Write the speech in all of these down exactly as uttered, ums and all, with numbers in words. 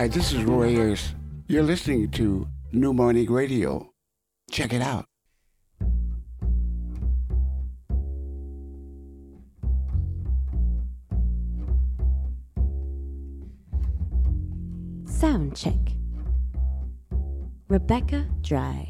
Hi, this is Roy Ayers. You're listening to New Morning Radio. Check it out. Sound check. Rebecca Dry.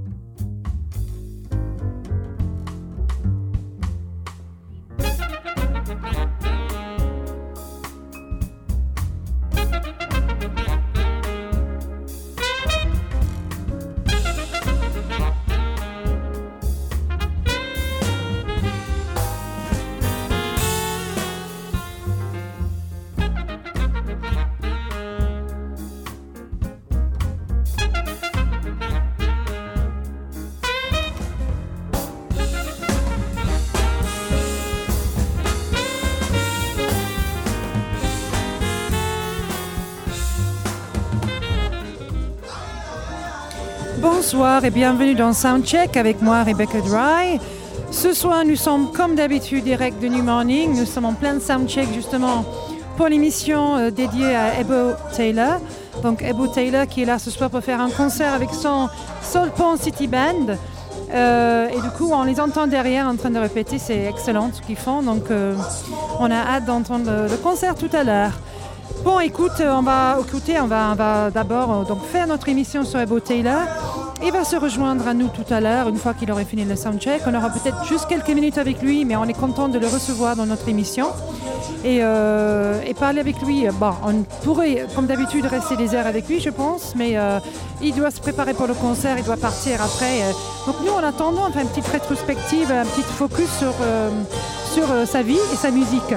Bonsoir et bienvenue dans Soundcheck avec moi Rebecca Dry. Ce soir nous sommes comme d'habitude direct de New Morning. Nous sommes en plein Soundcheck justement pour l'émission euh, dédiée à Ebo Taylor. Donc Ebo Taylor qui est là ce soir pour faire un concert avec son Soul Pond City Band. Euh, et du coup on les entend derrière en train de répéter, c'est excellent ce qu'ils font. Donc euh, on a hâte d'entendre le, le concert tout à l'heure. Bon, écoute, on va écouter, on va, on va d'abord euh, donc faire notre émission sur Ebo Taylor. Il va se rejoindre à nous tout à l'heure, une fois qu'il aurait fini le soundcheck. On aura peut-être juste quelques minutes avec lui, mais on est content de le recevoir dans notre émission. Et, euh, et parler avec lui, bon, on pourrait, comme d'habitude, rester des heures avec lui, je pense, mais euh, il doit se préparer pour le concert, il doit partir après. Euh. Donc nous, en attendant, on fait une petite rétrospective, un petit focus sur, euh, sur euh, sa vie et sa musique.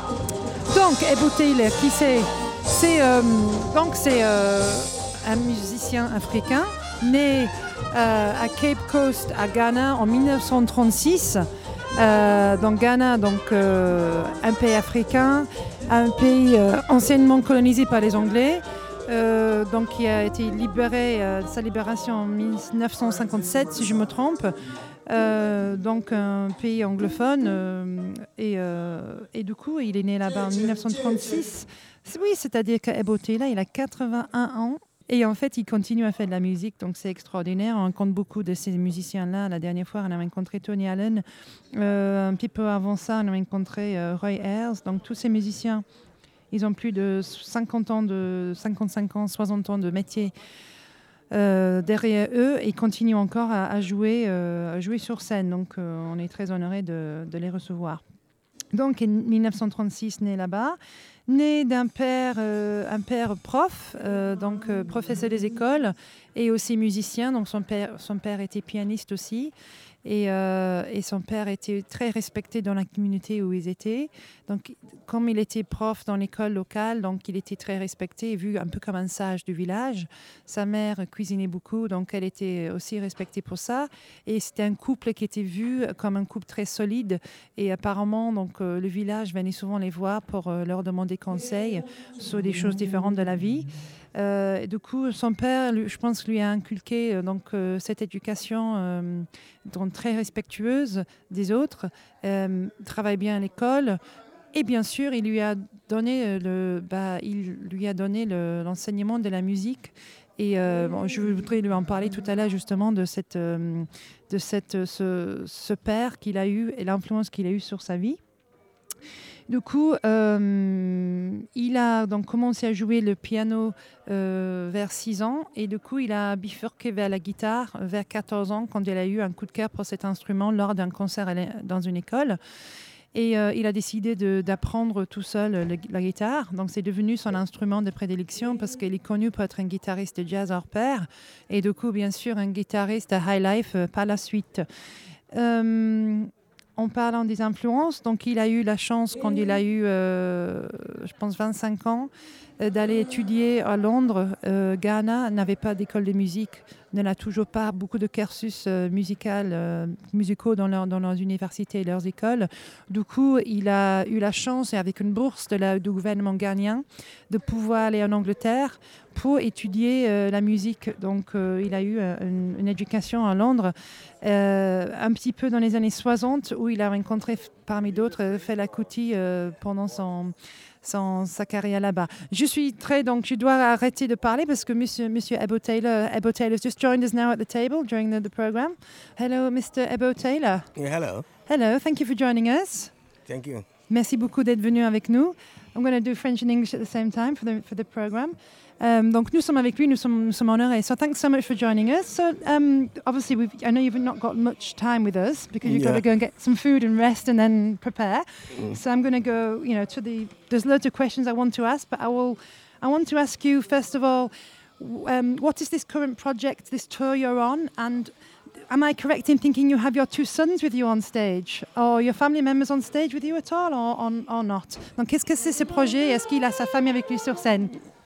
Donc, Ebo Taylor, qui c'est C'est, euh, donc, c'est euh, un musicien africain, né euh, à Cape Coast, à Ghana, en dix-neuf cent trente-six. Euh, donc Ghana, donc, euh, un pays africain, un pays euh, anciennement colonisé par les Anglais, euh, donc qui a été libéré, euh, sa libération en dix-neuf cent cinquante-sept, si je me trompe. Euh, donc un pays anglophone euh, et, euh, et du coup il est né là-bas en dix-neuf cent trente-six. Oui, c'est-à-dire qu'Ebo Taylor, il a quatre-vingt-un ans et en fait il continue à faire de la musique, donc c'est extraordinaire. On rencontre beaucoup de ces musiciens-là. La dernière fois on a rencontré Tony Allen, euh, un petit peu avant ça on a rencontré euh, Roy Ayers. Donc tous ces musiciens, ils ont plus de cinquante ans, de cinquante-cinq ans, soixante ans de métier Euh, derrière eux et continuent encore à, à, jouer, euh, à jouer sur scène. Donc euh, on est très honorés de, de les recevoir. Donc en dix-neuf cent trente-six, né là-bas, né d'un père, euh, un père prof, euh, donc euh, professeur des écoles et aussi musicien. Donc son père, son père était pianiste aussi. Et, euh, et son père était très respecté dans la communauté où ils étaient. Donc, comme il était prof dans l'école locale, donc il était très respecté et vu un peu comme un sage du village. Sa mère cuisinait beaucoup, donc elle était aussi respectée pour ça. Et c'était un couple qui était vu comme un couple très solide. Et apparemment, donc, euh, le village venait souvent les voir pour euh, leur demander conseil sur des choses différentes de la vie. Euh, du coup, son père, lui, je pense, lui a inculqué euh, donc, euh, cette éducation euh, donc, très respectueuse des autres, euh, travaille bien à l'école et bien sûr, il lui a donné, le, bah, il lui a donné le, l'enseignement de la musique. Et euh, bon, je voudrais lui en parler tout à l'heure justement de, cette, euh, de cette, ce, ce père qu'il a eu et l'influence qu'il a eue sur sa vie. Du coup, euh, il a donc commencé à jouer le piano euh, vers six ans et du coup, il a bifurqué vers la guitare vers quatorze ans quand il a eu un coup de cœur pour cet instrument lors d'un concert dans une école. Et euh, il a décidé de, d'apprendre tout seul le, la guitare. Donc, c'est devenu son instrument de prédilection parce qu'il est connu pour être un guitariste de jazz hors pair et du coup, bien sûr, un guitariste de high life euh, par la suite. Euh, En parlant des influences, donc il a eu la chance quand il a eu, euh, je pense, vingt-cinq ans, euh, d'aller étudier à Londres. Euh, Ghana n'avait pas d'école de musique ne l'a toujours pas beaucoup de cursus euh, musical, euh, musicaux dans, leur, dans leurs universités et leurs écoles. Du coup, il a eu la chance, avec une bourse de la, du gouvernement ghanéen, de pouvoir aller en Angleterre pour étudier euh, la musique. Donc, euh, il a eu euh, une, une éducation à Londres, euh, un petit peu dans les années soixante, où il a rencontré, parmi d'autres, Fela Kuti euh, pendant son... Sans sa carrière là-bas. Je suis très, donc je dois arrêter de parler parce que Monsieur, Monsieur Ebo Taylor, Ebo Taylor has just joined us now at the table during the, the program. Hello, Mister Ebo Taylor. Yeah, hello. Hello, thank you for joining us. Thank you. Merci beaucoup d'être venu avec nous. I'm going to do French and English at the same time for the for the program. Um, donc nous sommes avec lui, nous sommes, nous sommes honorés. So thanks so much for joining us. So um, obviously, we've, I know you've not got much time with us because you've Yeah. got to go and get some food and rest and then prepare. Mm. So I'm going to go, you know, to the. There's loads of questions I want to ask, but I will. I want to ask you first of all, w- um, what is this current project, this tour you're on, and am I correct in thinking you have your two sons with you on stage, or your family members on stage with you at all, or, or, or not? Donc, qu'est-ce que c'est ce projet? Est-ce qu'il a sa famille avec lui sur scène?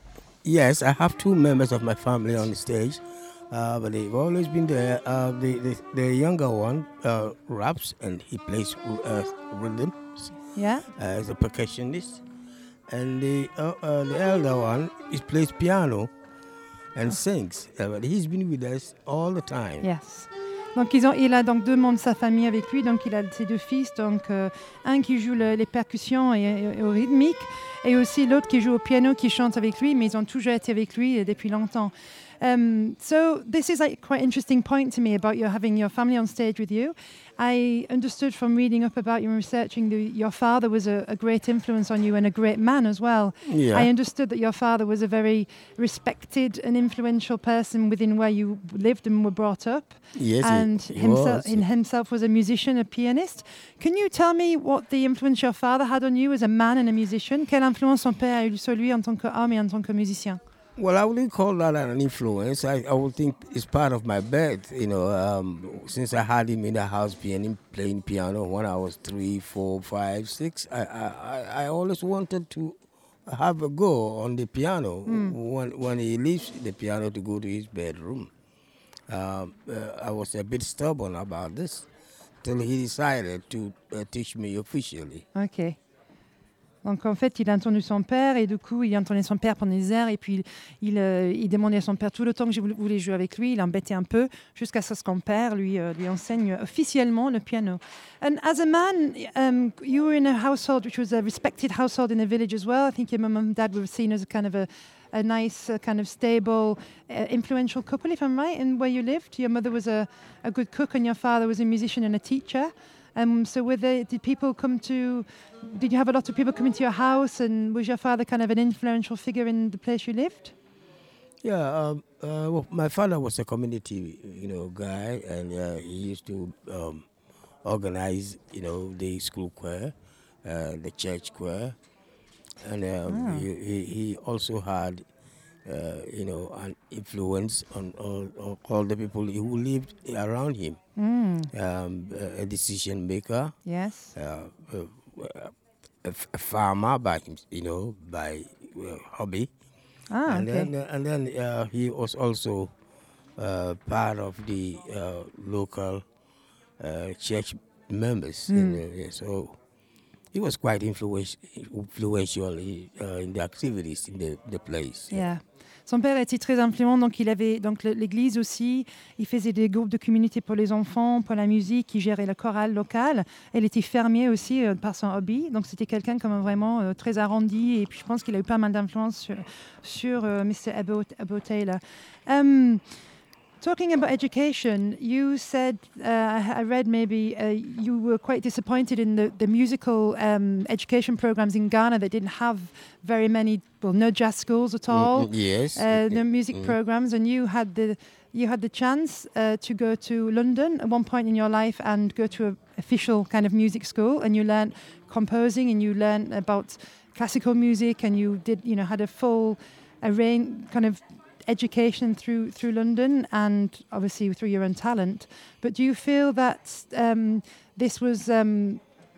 Yes, I have two members of my family on the stage, uh, but they've always been there. Uh, the, the the younger one uh, raps and he plays uh, rhythms Yeah. uh, as a percussionist, and the uh, uh, the elder one he plays piano and sings. Uh, but he's been with us all the time. Yes. Donc ils ont, il a donc deux membres de sa famille avec lui, donc il a ses deux fils, donc euh, un qui joue le, les percussions et, et, et au rythmique, et aussi l'autre qui joue au piano, qui chante avec lui, mais ils ont toujours été avec lui depuis longtemps. Um, so this is like quite interesting point to me about you having your family on stage with you. I understood from reading up about you and researching that your father was a, a great influence on you and a great man as well. Yeah. I understood that your father was a very respected and influential person within where you lived and were brought up. Yes, he- and he himself, was. in himself was a musician, a pianist. Can you tell me what the influence your father had on you as a man and a musician? Quelle influence son père a eu sur lui en tant qu'homme et en tant que musicien? Well, I wouldn't call that an influence. I, I would think it's part of my birth. You know, um, since I had him in the house piano, playing piano when I was three, four, five, six, I, I, I- I always wanted to have a go on the piano when, when he leaves the piano to go to his bedroom. Um, uh, I was a bit stubborn about this till he decided to uh, teach me officially. Ok. Donc en fait, il a entendu son père et du coup, il entendait son père pendant des heures et puis il, il, euh, il demandait à son père tout le temps que je voulais- voulais jouer avec lui. Il l'embêtait un peu jusqu'à ce que son père lui, euh, lui enseigne officiellement le piano. And as a man, um, you were in a household which was a respected household in the village as well. I think your mum and dad were seen as a kind of a, a nice, uh, kind of stable, uh, influential couple, if I'm right, in where you lived. Your mother was a, a good cook and your father was a musician and a teacher. Um, so were they, did people come to, did you have a lot of people coming to your house, and was your father kind of an influential figure in the place you lived? Yeah, um, uh, well, my father was a community, you know, guy, and uh, he used to um, organize, you know, the school choir, uh, the church choir, and um, he, he he also had, uh, you know, an influence on all, all, all the people who lived around him. Um, a a decision maker, Yes. uh, uh, a, f- a farmer by him, you know, by uh, hobby. Ah, and okay. then, uh, and then uh, he was also uh, part of the uh, local uh, church members. in the- yeah, so he was quite influential, influential uh, in the activities in the, the place. Yeah. Son père était très influent, donc il avait donc le- l'église aussi. Il faisait des groupes de communauté pour les enfants, pour la musique. Il gérait le choral local. Il était fermier aussi euh, par son hobby. Donc c'était quelqu'un comme vraiment euh, très arrondi. Et puis je pense qu'il a eu pas mal d'influence sur, sur euh, Mister Ebo, Ebo Taylor. Um, Talking about education, you said, uh, I I read maybe uh, you were quite disappointed in the, the musical um, education programs in Ghana that didn't have very many, well, no jazz schools at all, Mm, yes. uh, no music Mm. programs, and you had the you had the chance uh, to go to London at one point in your life and go to an official kind of music school, and you learned composing and you learned about classical music, and you did, you know, had a full array kind of education through through London and obviously through your own talent. But do you feel that um, this was um,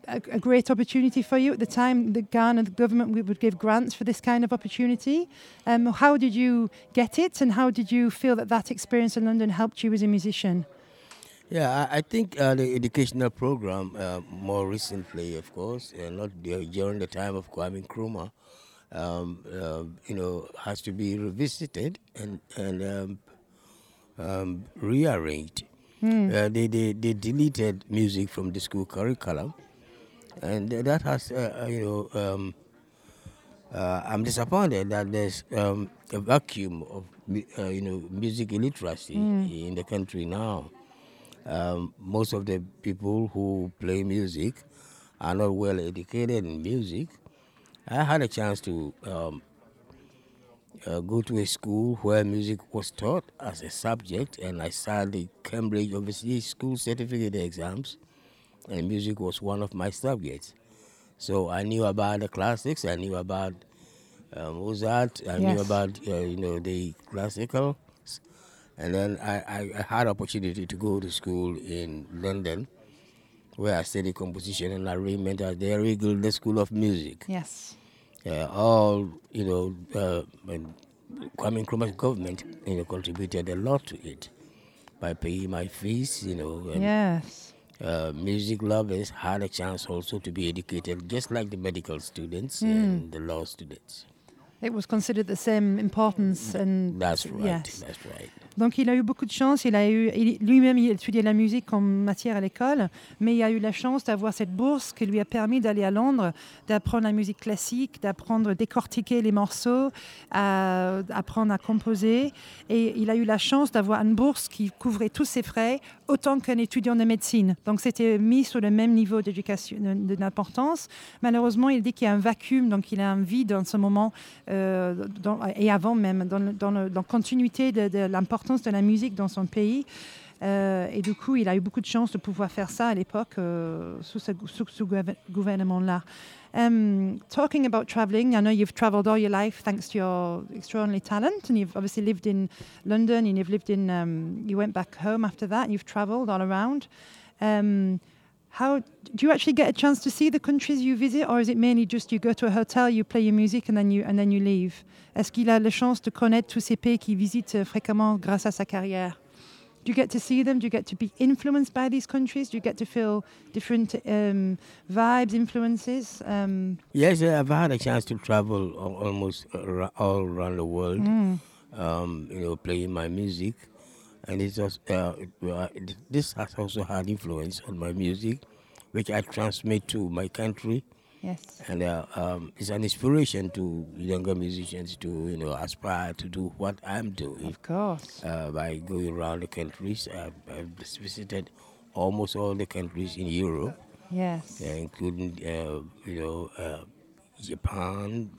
a, a great opportunity for you at the time? The Ghana the government would give grants for this kind of opportunity. Um, how did you get it, and how did you feel that that experience in London helped you as a musician? Yeah, I, I think uh, the educational program, uh, more recently, of course, uh, not the, during the time of Kwame Nkrumah, um, uh, you know, has to be revisited and and um, um, rearranged. Mm. Uh, they, they they deleted music from the school curriculum, and that has uh, you know um, uh, I'm disappointed that there's um, a vacuum of uh, you know music illiteracy mm. in the country now. Um, most of the people who play music are not well educated in music. I had a chance to um, uh, go to a school where music was taught as a subject, and I sat the Cambridge Overseas School Certificate exams, and music was one of my subjects. So I knew about the classics, I knew about uh, Mozart, I yes. knew about uh, you know the classical. And then I, I, I had opportunity to go to school in London, where I studied composition and arrangement at the Harry Gilder School of Music. Yes. Uh, all, you know, uh, Kwame Nkrumah's government, you know, contributed a lot to it by paying my fees, you know. And, yes. Uh, music lovers had a chance also to be educated, just like the medical students mm. and the law students. It was considered the same importance. And that's right, yes. that's right. Donc il a eu beaucoup de chance, il a eu, il, lui-même il a étudié la musique comme matière à l'école, mais il a eu la chance d'avoir cette bourse qui lui a permis d'aller à Londres, d'apprendre la musique classique, d'apprendre à décortiquer les morceaux, à apprendre à composer, et il a eu la chance d'avoir une bourse qui couvrait tous ses frais, autant qu'un étudiant de médecine. Donc c'était mis sur le même niveau d'éducation, de, d'importance. Malheureusement, il dit qu'il y a un vacuum, donc il a un vide en ce moment, euh, dans, et avant même, dans, dans, le, dans la continuité de, de l'importance de la musique dans son pays. Euh, et du coup, il a eu beaucoup de chance de pouvoir faire ça à l'époque, euh, sous ce, sous ce gouvernement-là. Um, talking about traveling, I know you've traveled all your life thanks to your extraordinary talent, and you've obviously lived in London, and you've lived in, um, you went back home after that, and you've traveled all around. Um, how do you actually get a chance to see the countries you visit, or is it mainly just you go to a hotel, you play your music, and then you and then you leave? Est-ce qu'il a la chance de connaître tous ces pays qu'il visite fréquemment grâce à sa carrière? Do you get to see them? Do you get to be influenced by these countries? Do you get to feel different um, vibes, influences? Um, yes, I've had a chance to travel almost all around the world, mm. um, you know, playing my music. And it's also, uh, this has also had influence on my music, which I transmit to my country. Yes. And uh, um, it's an inspiration to younger musicians to, you know, aspire to do what I'm doing. Of course. Uh, by going around the countries. I've, I've visited almost all the countries in Europe. Yes. Uh, including, uh, you know, uh, Japan,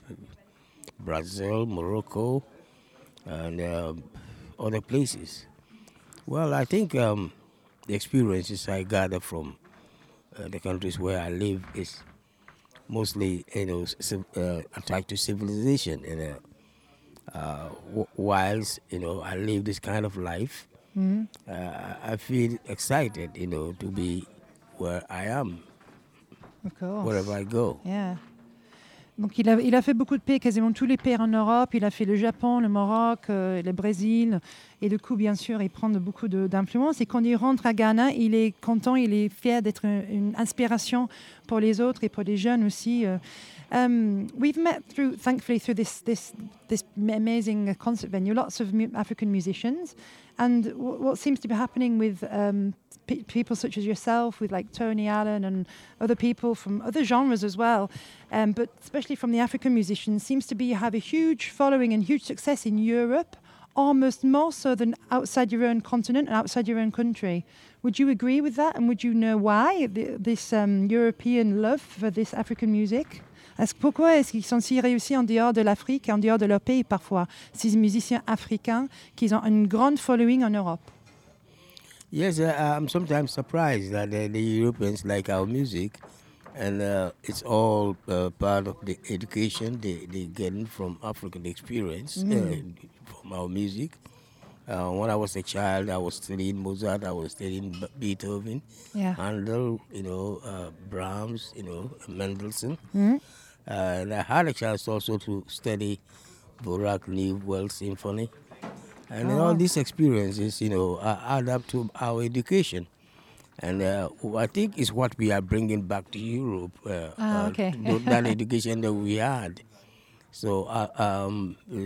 Brazil, Morocco, and uh, other places. Well, I think um, the experiences I gather from uh, the countries where I live is mostly, you know, uh, attached to civilization. And uh, uh, w- whilst, you know, I live this kind of life, mm-hmm. uh, I feel excited, you know, to be where I am, of course. Wherever I go. Yeah. Donc il a, il a fait beaucoup de pays, quasiment tous les pays en Europe. Il a fait le Japon, le Maroc, euh, le Brésil. Et du coup, bien sûr, il prend de, beaucoup de, d'influence. Et quand il rentre à Ghana, il est content, il est fier d'être une, une inspiration pour les autres et pour les jeunes aussi. Um, we've met, through, thankfully, through this, this, this amazing concert venue, lots of mu- African musicians. And w- what seems to be happening with um, p- people such as yourself, with like Tony Allen and other people from other genres as well, um, but especially from the African musicians, seems to be you have a huge following and huge success in Europe, almost more so than outside your own continent and outside your own country. Would you agree with that? And would you know why the, this um, European love for this African music? Est-ce, pourquoi est-ce qu'ils sont si réussis en dehors de l'Afrique et en dehors de leur pays parfois, ces musiciens africains qui ont une grande following en Europe? Yes, uh, I'm sometimes surprised that uh, the Europeans like our music, and uh, it's all uh, part of the education they, they get from African experience, mm. uh, from our music. Uh, when I was a child, I was studying Mozart, I was studying B- Beethoven, Yeah. Handel, you know, uh, Brahms, you know, Mendelssohn. Mm. Uh, and I had a chance also to study Dvorak New World Symphony. And Oh, all wow. these experiences, you know, uh, add up to our education. And uh, I think it's what we are bringing back to Europe, uh, Ah, uh, okay. th- that education that we had. So uh, um, uh,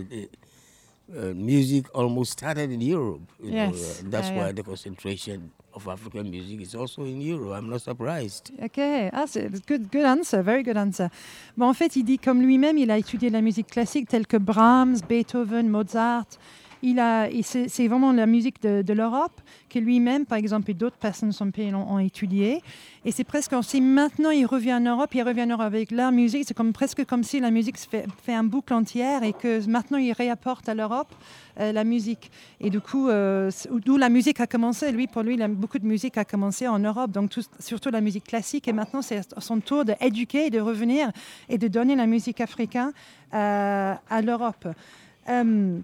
uh, music almost started in Europe. You know, Yes. uh, that's Yeah, why yeah. the concentration of African music is also in Europe. I'm not surprised. Ok, ah, c'est good, good answer, very good answer. Bon, en fait, il dit comme lui-même, il a étudié la musique classique telle que Brahms, Beethoven, Mozart. Il a, et c'est, c'est vraiment la musique de, de l'Europe que lui-même, par exemple, et d'autres personnes de son pays l'ont, ont étudié. Et c'est presque comme si maintenant il revient en Europe, il revient en Europe avec leur musique. C'est comme, presque comme si la musique se fait, fait un boucle entière et que maintenant il réapporte à l'Europe euh, la musique. Et du coup, euh, d'où la musique a commencé. Lui, pour lui, il a, beaucoup de musique a commencé en Europe, donc tout, surtout la musique classique. Et maintenant, c'est son tour d'éduquer, de revenir et de donner la musique africaine euh, à l'Europe. Um,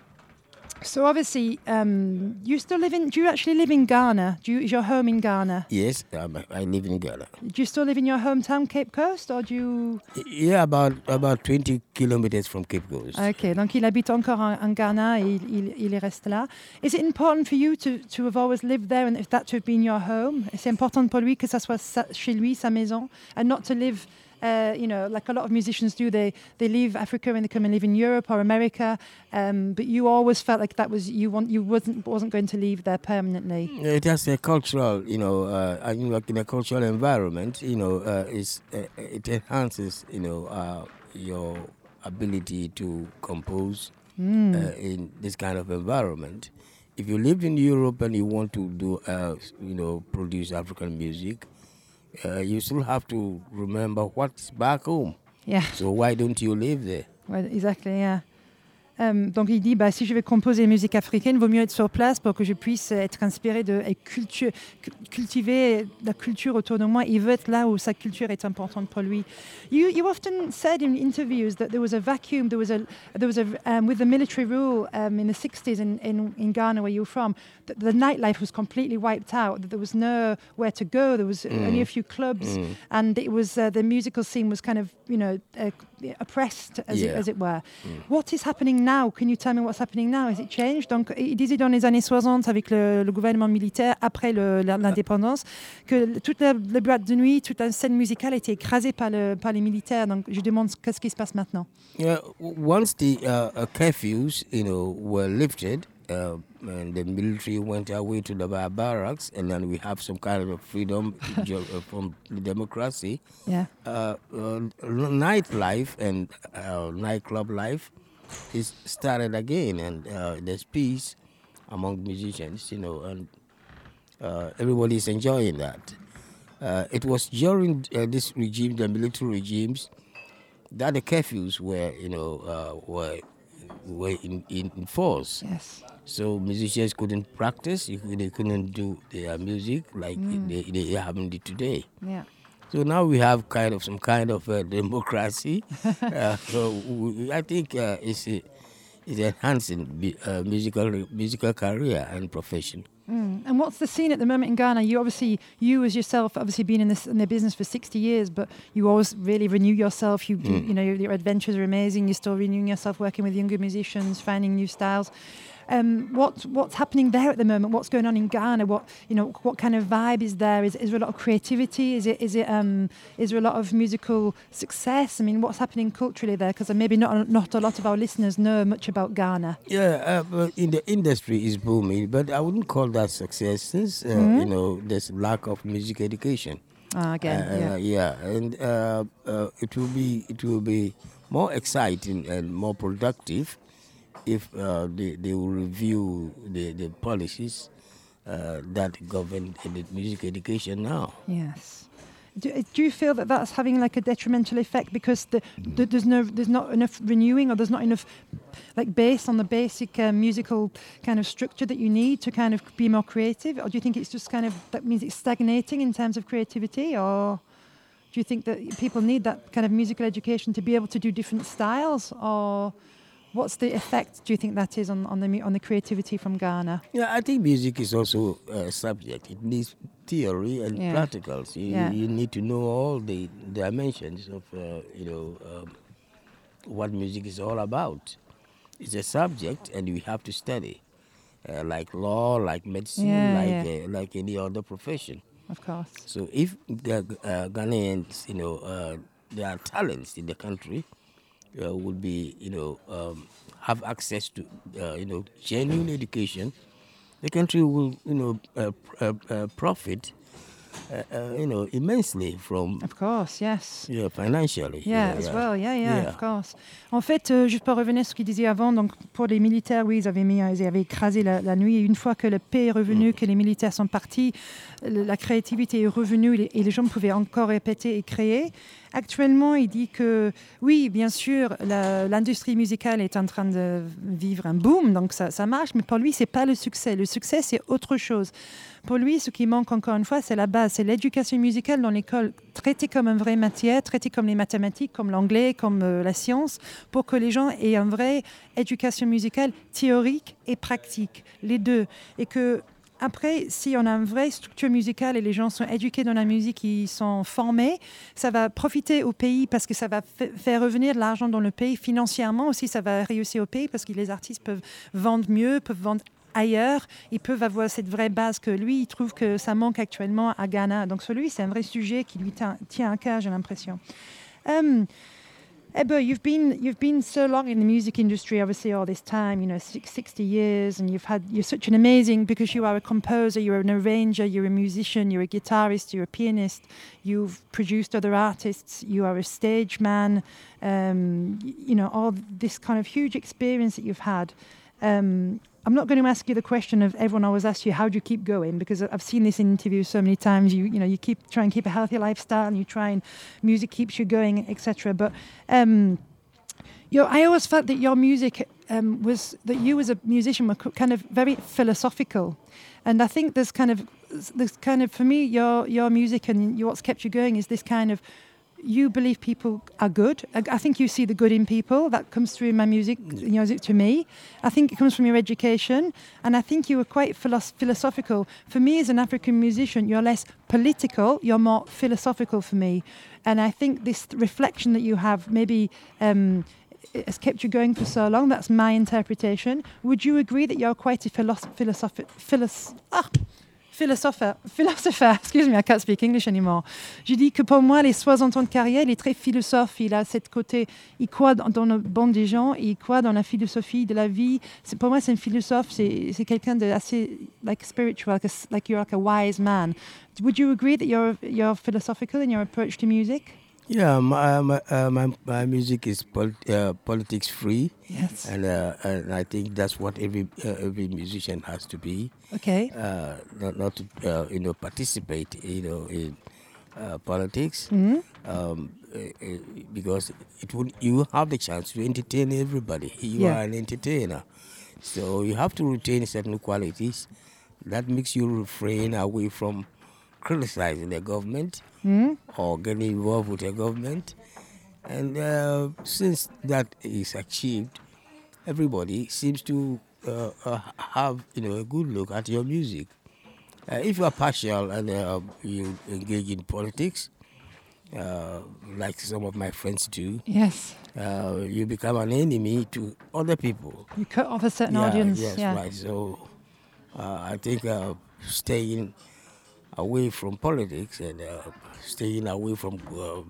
So obviously, um, you still live in. Do you actually live in Ghana? Do you, is your home in Ghana? Yes, um, I live in Ghana. Do you still live in your hometown, Cape Coast, or do you? Yeah, about about twenty kilometers from Cape Coast. Okay, donc il habite encore en, en Ghana et il, il, il reste là. Is it important for you to, to have always lived there and if that to have been your home? C'est important pour lui que ça soit sa, chez lui, sa maison, and not to live. Uh, you know, like a lot of musicians do, they they leave Africa and they come and live in Europe or America. Um, but you always felt like that was you want you wasn't wasn't going to leave there permanently. It has a cultural, you know, uh, I mean, like in a cultural environment, you know, uh, it's, uh, it enhances, you know, uh, your ability to compose Mm. uh, in this kind of environment. If you live in Europe and you want to do, uh, you know, produce African music, uh, you still have to remember what's back home. Yeah. So why don't you live there? Ouais, exactly, yeah. Um, donc il dit, bah, si je vais composer musique africaine, il vaut mieux être sur place pour que je puisse être inspiré de et culture, cultiver la culture autour de moi. Il veut être là où sa culture est importante pour lui. You, you often said in interviews that there was a vacuum, there was a, there was a um, with the military rule um, in the sixties in, in, in Ghana where you're from, that the nightlife was completely wiped out, that there was nowhere to go, there was mm. only a few clubs, mm. and it was uh, the musical scene was kind of, you know, uh, oppressed, as, yeah. it, as it were. Mm. What is happening now? Can you tell me what's happening now? Has it changed? Donc, il disait dans les années soixante, avec le, le gouvernement militaire, après le, l'indépendance, que toute la, la boîte de nuit, toute la scène musicale a été écrasée par, le, par les militaires. Donc, je demande qu'est-ce qui se passe maintenant. Yeah, once the uh, curfews, you know, were lifted, uh, and the military went away to the bar- barracks, and then we have some kind of freedom from democracy. Yeah. Uh, uh, nightlife and uh, nightclub life is started again, and uh, there's peace among musicians, you know, and uh, everybody is enjoying that. Uh, it was during uh, this regime, the military regimes, that the curfews were, you know, uh, were were in, in, in force. Yes. So musicians couldn't practice, they couldn't do their music like mm. they, they haven't did today. Yeah. So now we have kind of some kind of uh, democracy. uh, so we, I think uh, it's, uh, it's enhancing uh, musical musical career and profession. Mm. And what's the scene at the moment in Ghana? You obviously, you as yourself, obviously been in this in the business for sixty years, but you always really renew yourself. You, mm. you know, your, your adventures are amazing. You're still renewing yourself, working with younger musicians, finding new styles. Um, what what's happening there at the moment? What's going on in Ghana? What you know? What kind of vibe is there? Is, is there a lot of creativity? Is it is it um, is there a lot of musical success? I mean, what's happening culturally there? Because maybe not not a lot of our listeners know much about Ghana. Yeah, uh, in the industry is booming, but I wouldn't call that success since uh, mm-hmm. you know there's lack of music education. Ah, again, uh, yeah, yeah, and uh, uh, it will be it will be more exciting and more productive if uh, they, they will review the, the policies uh, that govern the music education now. Yes. Do, do you feel that that's having like a detrimental effect because the, the, there's no there's not enough renewing or there's not enough like based on the basic uh, musical kind of structure that you need to kind of be more creative, or do you think it's just kind of that means it's stagnating in terms of creativity, or do you think that people need that kind of musical education to be able to do different styles, or what's the effect, do you think that is on, on, the, mu- on the creativity from Ghana? Yeah, I think music is also a subject. It needs theory and Yeah. practicals. You, Yeah. you need to know all the dimensions of, uh, you know, um, what music is all about. It's a subject, and we have to study, uh, like law, like medicine, Yeah, like yeah. uh, like any other profession. Of course. So if the uh, Ghanaians, you know, uh, there are talents in the country, uh, would be, you know, um, have access to, uh, you know, genuine education, the country will, you know, uh, pr- uh, uh, profit, uh, uh, you know, immensely from, Of course, yes. yeah, financially. Yeah, you know, as well. Yeah, yeah, Yeah. of course. En fait, euh, juste pour revenir sur ce qu'il disait avant, donc pour les militaires, oui, ils avaient, mis, ils avaient écrasé la, la nuit. Et une fois que la paix est revenue, Mm. que les militaires sont partis, le- la créativité est revenue et les, et les gens pouvaient encore répéter et créer. Actuellement, il dit que oui, bien sûr, la- l'industrie musicale est en train de vivre un boom, donc ça, ça marche, mais pour lui, c'est pas le succès. Le succès, c'est autre chose. Pour lui, ce qui manque encore une fois, c'est la base, c'est l'éducation musicale dans l'école, traitée comme une vraie matière, traitée comme les mathématiques, comme l'anglais, comme euh, la science, pour que les gens aient une vraie éducation musicale théorique et pratique, les deux. Et que après, si on a une vraie structure musicale et les gens sont éduqués dans la musique, ils sont formés, ça va profiter au pays parce que ça va fa- faire revenir de l'argent dans le pays. Financièrement aussi, ça va réussir au pays parce que les artistes peuvent vendre mieux, peuvent vendre ailleurs. Ils peuvent avoir cette vraie base que lui, il trouve que ça manque actuellement à Ghana. Donc, sur lui, c'est un vrai sujet qui lui tient, tient à cœur, j'ai l'impression. Um, Ebba, you've been you've been so long in the music industry, obviously all this time, you know, six, sixty years, and you've had you're such an amazing because you are a composer, you're an arranger, you're a musician, you're a guitarist, you're a pianist, you've produced other artists, you are a stage man, um, y- you know, all this kind of huge experience that you've had. Um, I'm not going to ask you the question of everyone always asks you, how do you keep going? Because I've seen this in interviews so many times. You you know, you keep try and keep a healthy lifestyle, and you try and music keeps you going, et cetera. But um, your, I always felt that your music um, was that you as a musician were co- kind of very philosophical, and I think there's kind of there's kind of for me your your music and your, what's kept you going is this kind of. You believe people are good. I, I think you see the good in people. That comes through in my music, you know, to me. I think it comes from your education. And I think you were quite philosoph- philosophical. For me, as an African musician, you're less political. You're more philosophical for me. And I think this reflection that you have maybe um, has kept you going for so long. That's my interpretation. Would you agree that you're quite a philosoph- philosoph- philos- ah, Philosopher, philosopher, excuse me, I can't speak English anymore. Je dis que pour moi, les soixante ans de carrière, il est très philosophe. Il a cette côté, il croit dans, dans le bon des gens, il croit dans la philosophie de la vie. C'est, pour moi, c'est un philosophe, c'est, c'est quelqu'un de assez, like spiritual, like, a, like you're like a wise man. Would you agree that you're you're philosophical in your approach to music? Yeah, my my, uh, my my music is pol- uh, politics free, Yes. and uh, and I think that's what every uh, every musician has to be. Okay. Uh, not not to uh, you know participate you know in uh, politics, Mhm. um, uh, uh, because it would you have the chance to entertain everybody. You Yeah. are an entertainer, so you have to retain certain qualities. That makes you refrain away from criticizing the government Mhm. or getting involved with the government. And uh, since that is achieved, everybody seems to uh, uh, have you know a good look at your music. Uh, if you are partial and uh, you engage in politics, uh, like some of my friends do, Yes. uh, you become an enemy to other people. You cut off a certain Yeah, audience. Yes, yeah. right. So uh, I think uh, staying away from politics and uh, staying away from uh,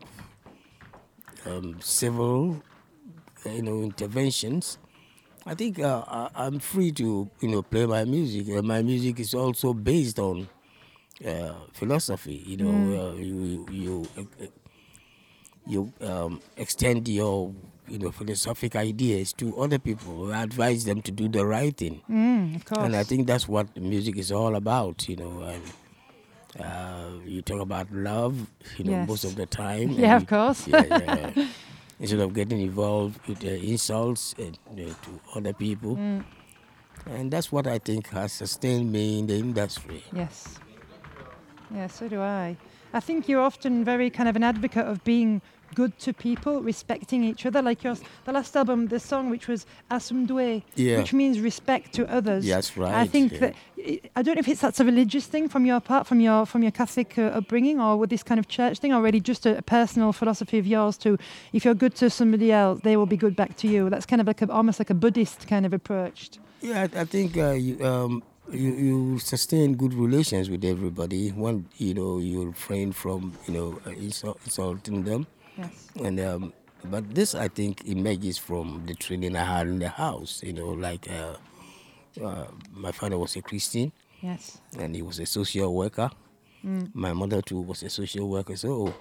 um, civil, you know, interventions. I think uh, I, I'm free to, you know, play my music. Uh, my music is also based on uh, philosophy. You know, Mm. uh, you you uh, you um, extend your you know philosophic ideas to other people, advise them to do the right thing. Mm, of course. And I think that's what music is all about, you know. And uh, you talk about love, you know, Yes. most of the time. and Yeah, of you- course. Yeah, yeah. Instead of getting involved with uh, insults and, uh, to other people. Mm. And that's what I think has sustained me in the industry. Yes. Yeah, so do I. I think you're often very kind of an advocate of being good to people, respecting each other. Like your the last album, the song which was Asumdwe, Yeah. which means respect to others. That's right. I think yeah. that I don't know if it's that's a religious thing from your part, from your from your Catholic uh, upbringing, or with this kind of church thing, or really just a, a personal philosophy of yours to, if you're good to somebody else, they will be good back to you. That's kind of like a, almost like a Buddhist kind of approach. Yeah, I, I think uh, you, um, you you sustain good relations with everybody. One, you know, you refrain from you know uh, insult, insulting them. Yes. And um, but this, I think, emerges from the training I had in the house. You know, like uh, uh, my father was a Christian, Yes. and he was a social worker. Mm. My mother too was a social worker. So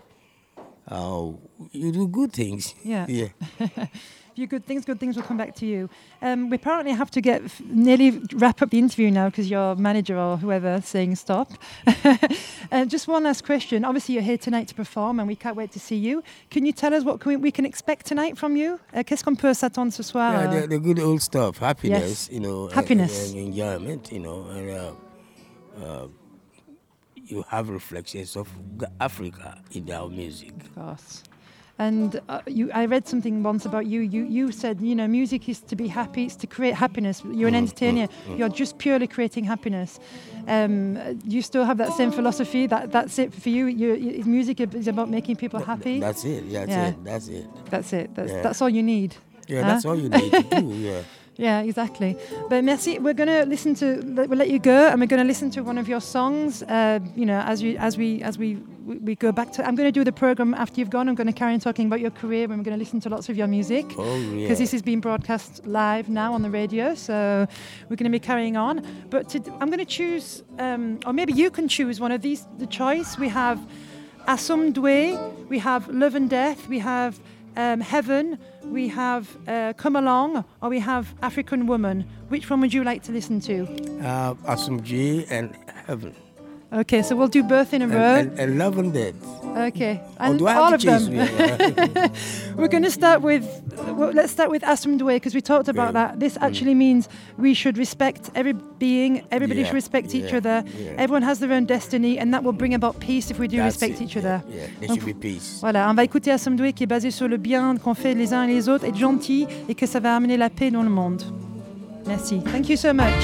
uh, you do good things. Yeah. Yeah. If you good things, good things will come back to you. Um, we apparently have to get f- nearly wrap up the interview now because your manager or whoever is saying stop. uh, just one last question. Obviously, you're here tonight to perform, and we can't wait to see you. Can you tell us what can we, we can expect tonight from you? Uh, qu'est-ce qu'on peut s'attendre ce soir? Yeah, uh, the, the good old stuff, happiness, Yes. you know, and- Happiness. and, enjoyment, you know, and uh, uh, you have reflections of G- Africa in our music. Of course. And uh, you, I read something once about you. You, you said, you know, music is to be happy. It's to create happiness. You're an Mm, entertainer. mm, mm. You're just purely creating happiness. Um, you still have that same philosophy. That that's it for you. You, you music is about making people Th- happy. That's it. That's Yeah. it. That's it. That's it. That's Yeah. that's all you need. Yeah, Huh? that's all you need to do. Yeah. Yeah, exactly. But merci. We're gonna listen to. We'll let you go, and we're gonna listen to one of your songs. Uh, you know, as you as we as we we, we go back to. I'm gonna do the program after you've gone. I'm gonna carry on talking about your career, and we're gonna listen to lots of your music. Oh yeah. Because this is being broadcast live now on the radio, so we're going to be carrying on. But to, I'm going to choose, um, or maybe you can choose one of these. The choice we have Asumdwe, we have Love and Death, we have um, Heaven, we have uh, Come Along, or we have African Woman. Which one would you like to listen to? Uh, Asumdwe and Heaven. Okay, so we'll do both in a And, row. and, and Love and Death. Okay, Or and do I have all to of them. choose? Yeah. We're going to start with, well, let's start with Asumdwe because we talked about Okay. that. This actually means we should respect every being, everybody Yeah, should respect each yeah, other. yeah. Everyone has their own destiny and that will bring about peace if we do That's respect it, each yeah, other. Yeah, there Donc, should be peace. Voilà, on va écouter Asumdwe qui est basé sur le bien qu'on fait les uns et les autres, être gentil et que ça va amener la paix dans le monde. Merci. Thank you so much.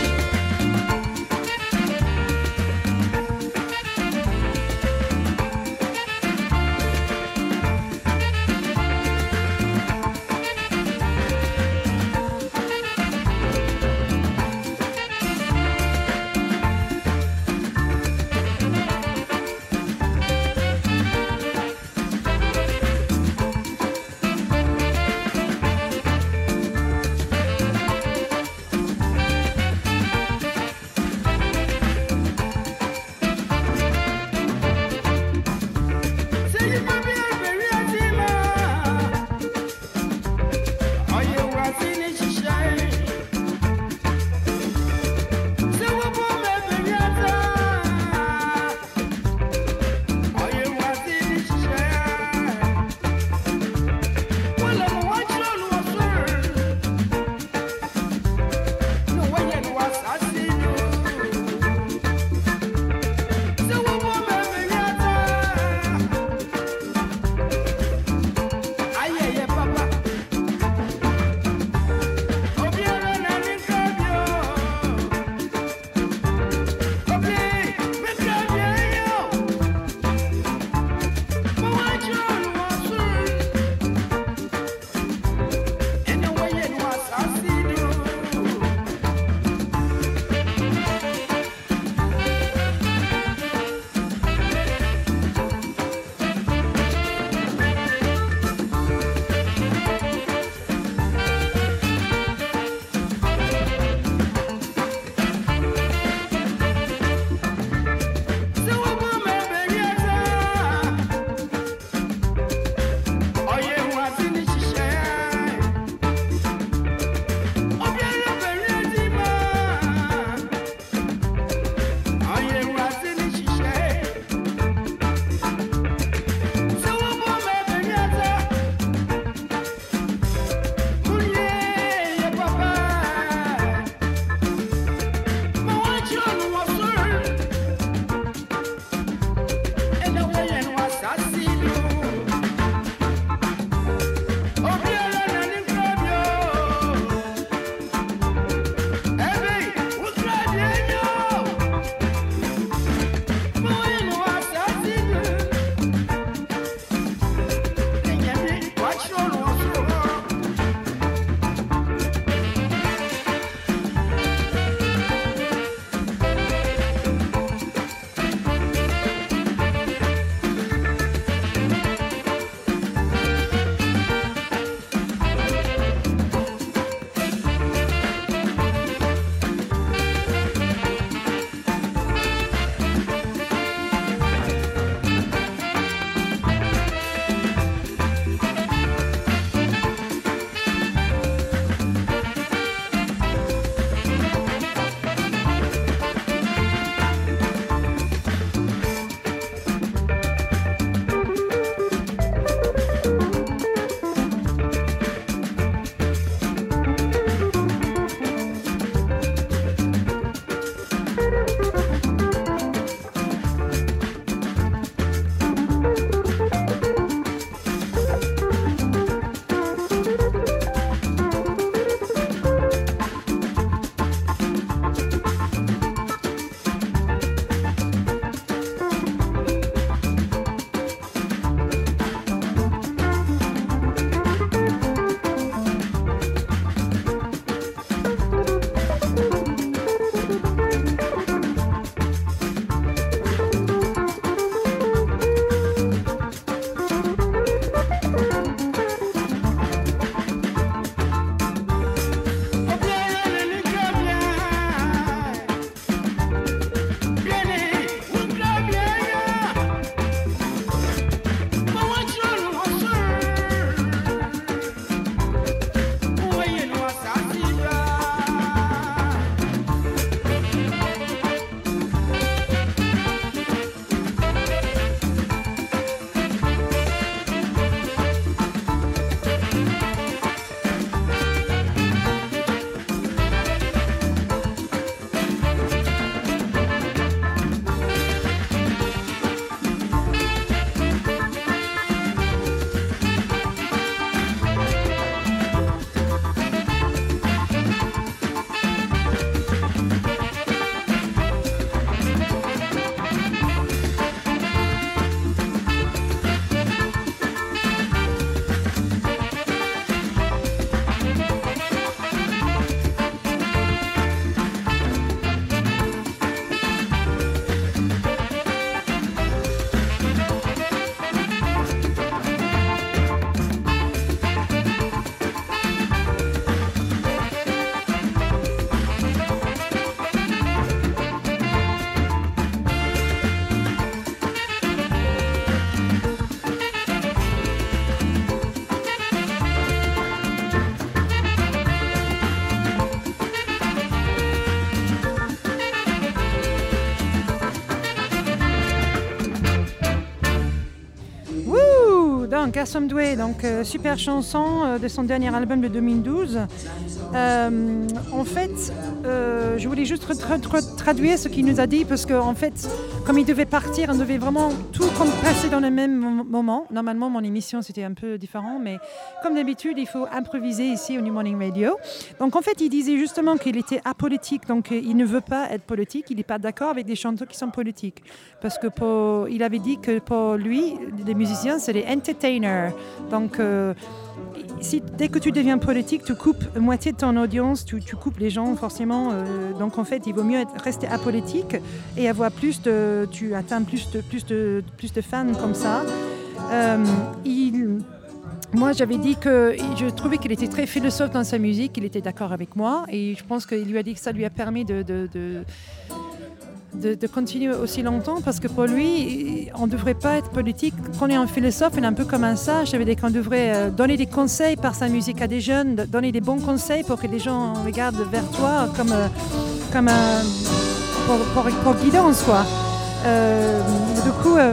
donc Asomdwe, donc euh, super chanson euh, de son dernier album de deux mille douze. Euh, en fait, euh, je voulais juste tra- tra- traduire ce qu'il nous a dit parce qu'en en fait, comme il devait partir, on devait vraiment tout passer dans le même moment. Normalement, mon émission c'était un peu différent, mais comme d'habitude, il faut improviser ici au New Morning Radio. Donc en fait, il disait justement qu'il était apolitique, donc il ne veut pas être politique, il n'est pas d'accord avec des chanteurs qui sont politiques, parce que pour, il avait dit que pour lui, les musiciens, c'est des entertainers. Donc euh, si, dès que tu deviens politique, tu coupes moitié de ton audience, tu, tu coupes les gens forcément. Euh, donc en fait, il vaut mieux être, rester apolitique et avoir plus de, tu atteins plus de, plus de, plus de fans comme ça. Euh, il, moi, j'avais dit que je trouvais qu'il était très philosophe dans sa musique, il était d'accord avec moi et je pense qu'il lui a dit que ça lui a permis de, de, de De, de continuer aussi longtemps parce que pour lui, on ne devrait pas être politique. Quand on est un philosophe, on est un peu comme un sage. Ça veut dire qu'on devrait donner des conseils par sa musique à des jeunes, donner des bons conseils pour que les gens regardent vers toi comme, comme un, pour, pour, pour guidance, quoi. Euh, du coup, euh,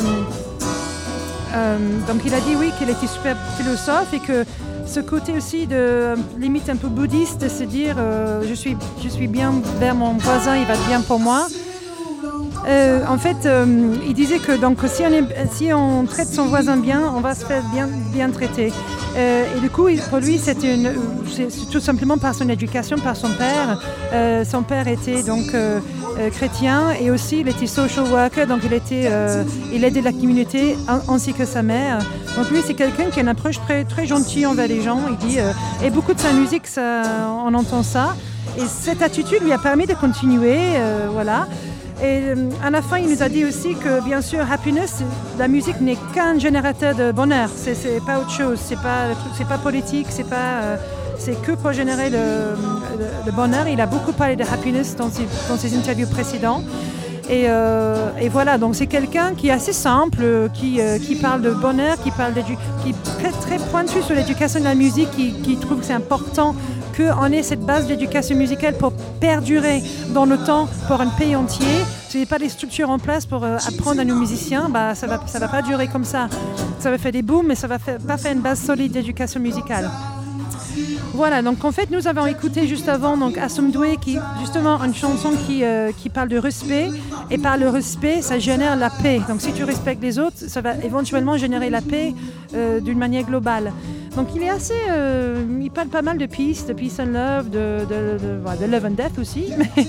euh, donc il a dit oui qu'il était super philosophe et que ce côté aussi de limite un peu bouddhiste, de se dire euh, je suis, je suis bien vers mon voisin, il va être bien pour moi. Euh, en fait, euh, il disait que donc, si, on est, si on traite son voisin bien, on va se faire bien, bien traiter. Euh, et du coup, pour lui, c'était une, c'est, c'est tout simplement par son éducation, par son père. Euh, son père était donc euh, euh, chrétien et aussi il était social worker, donc il, était, euh, il aidait la communauté ainsi que sa mère. Donc lui, c'est quelqu'un qui a une approche très, très gentille envers les gens. Il dit, euh, et beaucoup de sa musique, ça, on entend ça. Et cette attitude lui a permis de continuer, euh, voilà. Et euh, à la fin, il nous a dit aussi que, bien sûr, happiness, la musique n'est qu'un générateur de bonheur. C'est, c'est pas autre chose. C'est pas, c'est pas politique. C'est pas, euh, c'est que pour générer le, le, le bonheur. Il a beaucoup parlé de happiness dans ses, dans ses interviews précédentes. Et, euh, et voilà, donc c'est quelqu'un qui est assez simple, qui, euh, qui parle de bonheur, qui parle d'édu- qui est très, très pointu sur l'éducation de la musique, qui, qui trouve que c'est important qu'on ait cette base d'éducation musicale pour perdurer dans le temps pour un pays entier. Si il n'y a pas les structures en place pour euh, apprendre à nos musiciens, bah, ça ne va, ça va pas durer comme ça. Ça va faire des booms, mais ça ne va faire, pas faire une base solide d'éducation musicale. Voilà, donc en fait, nous avons écouté juste avant donc Asomdwe, qui justement une chanson qui, euh, qui parle de respect, et par le respect, ça génère la paix. Donc si tu respectes les autres, ça va éventuellement générer la paix euh, d'une manière globale. Donc il est assez, euh, il parle pas mal de peace, de peace and love, de, de, de, de, de love and death aussi.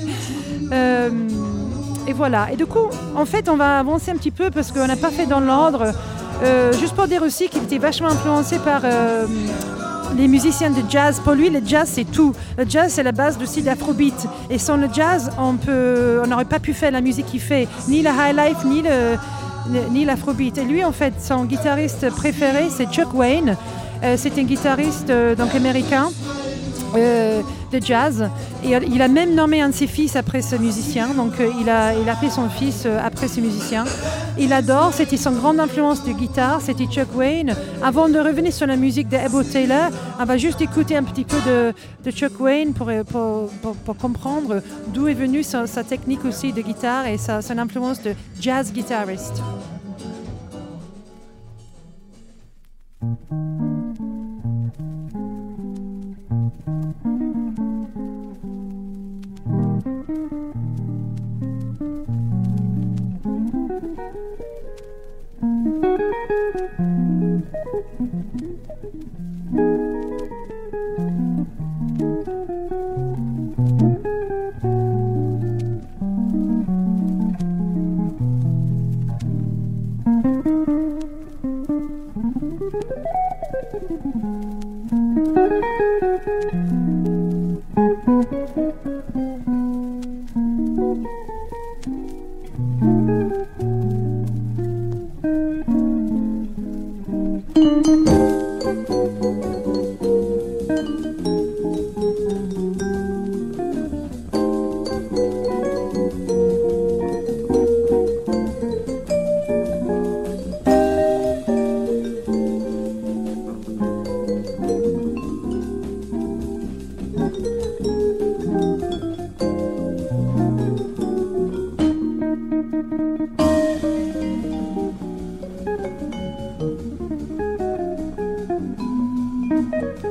euh, et voilà. Et du coup, en fait, on va avancer un petit peu parce qu'on n'a pas fait dans l'ordre. Euh, juste pour dire aussi qu'il était vachement influencé par euh, les musiciens de jazz. Pour lui, le jazz, c'est tout. Le jazz, c'est la base aussi de l'afrobeat. Et sans le jazz, on peut, on n'aurait pas pu faire la musique qu'il fait, ni le high life, ni le, ni l'afrobeat. Et lui, en fait, son guitariste préféré, c'est Chuck Wayne. Euh, c'est un guitariste euh, donc américain euh, de jazz. Et il a même nommé un de ses fils après ce musicien. Donc euh, il a, il a appelé son fils euh, après ce musicien. Il adore, c'était son grande influence de guitare, c'était Chuck Wayne. Avant de revenir sur la musique de Ebo Taylor, on va juste écouter un petit peu de, de Chuck Wayne pour, pour, pour, pour comprendre d'où est venue sa, sa technique aussi de guitare et sa, son influence de jazz guitariste.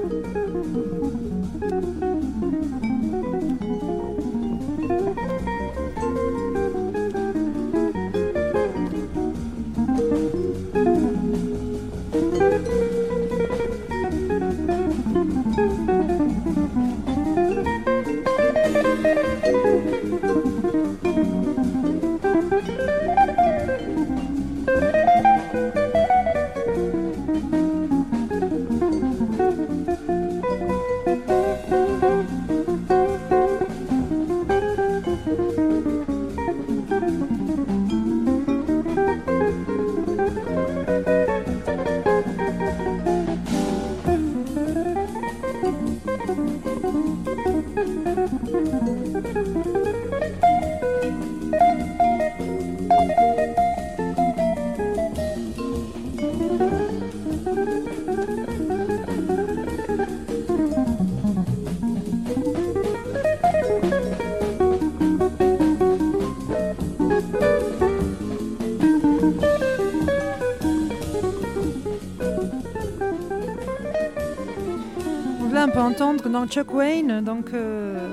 On peut entendre dans Chuck Wayne, donc euh,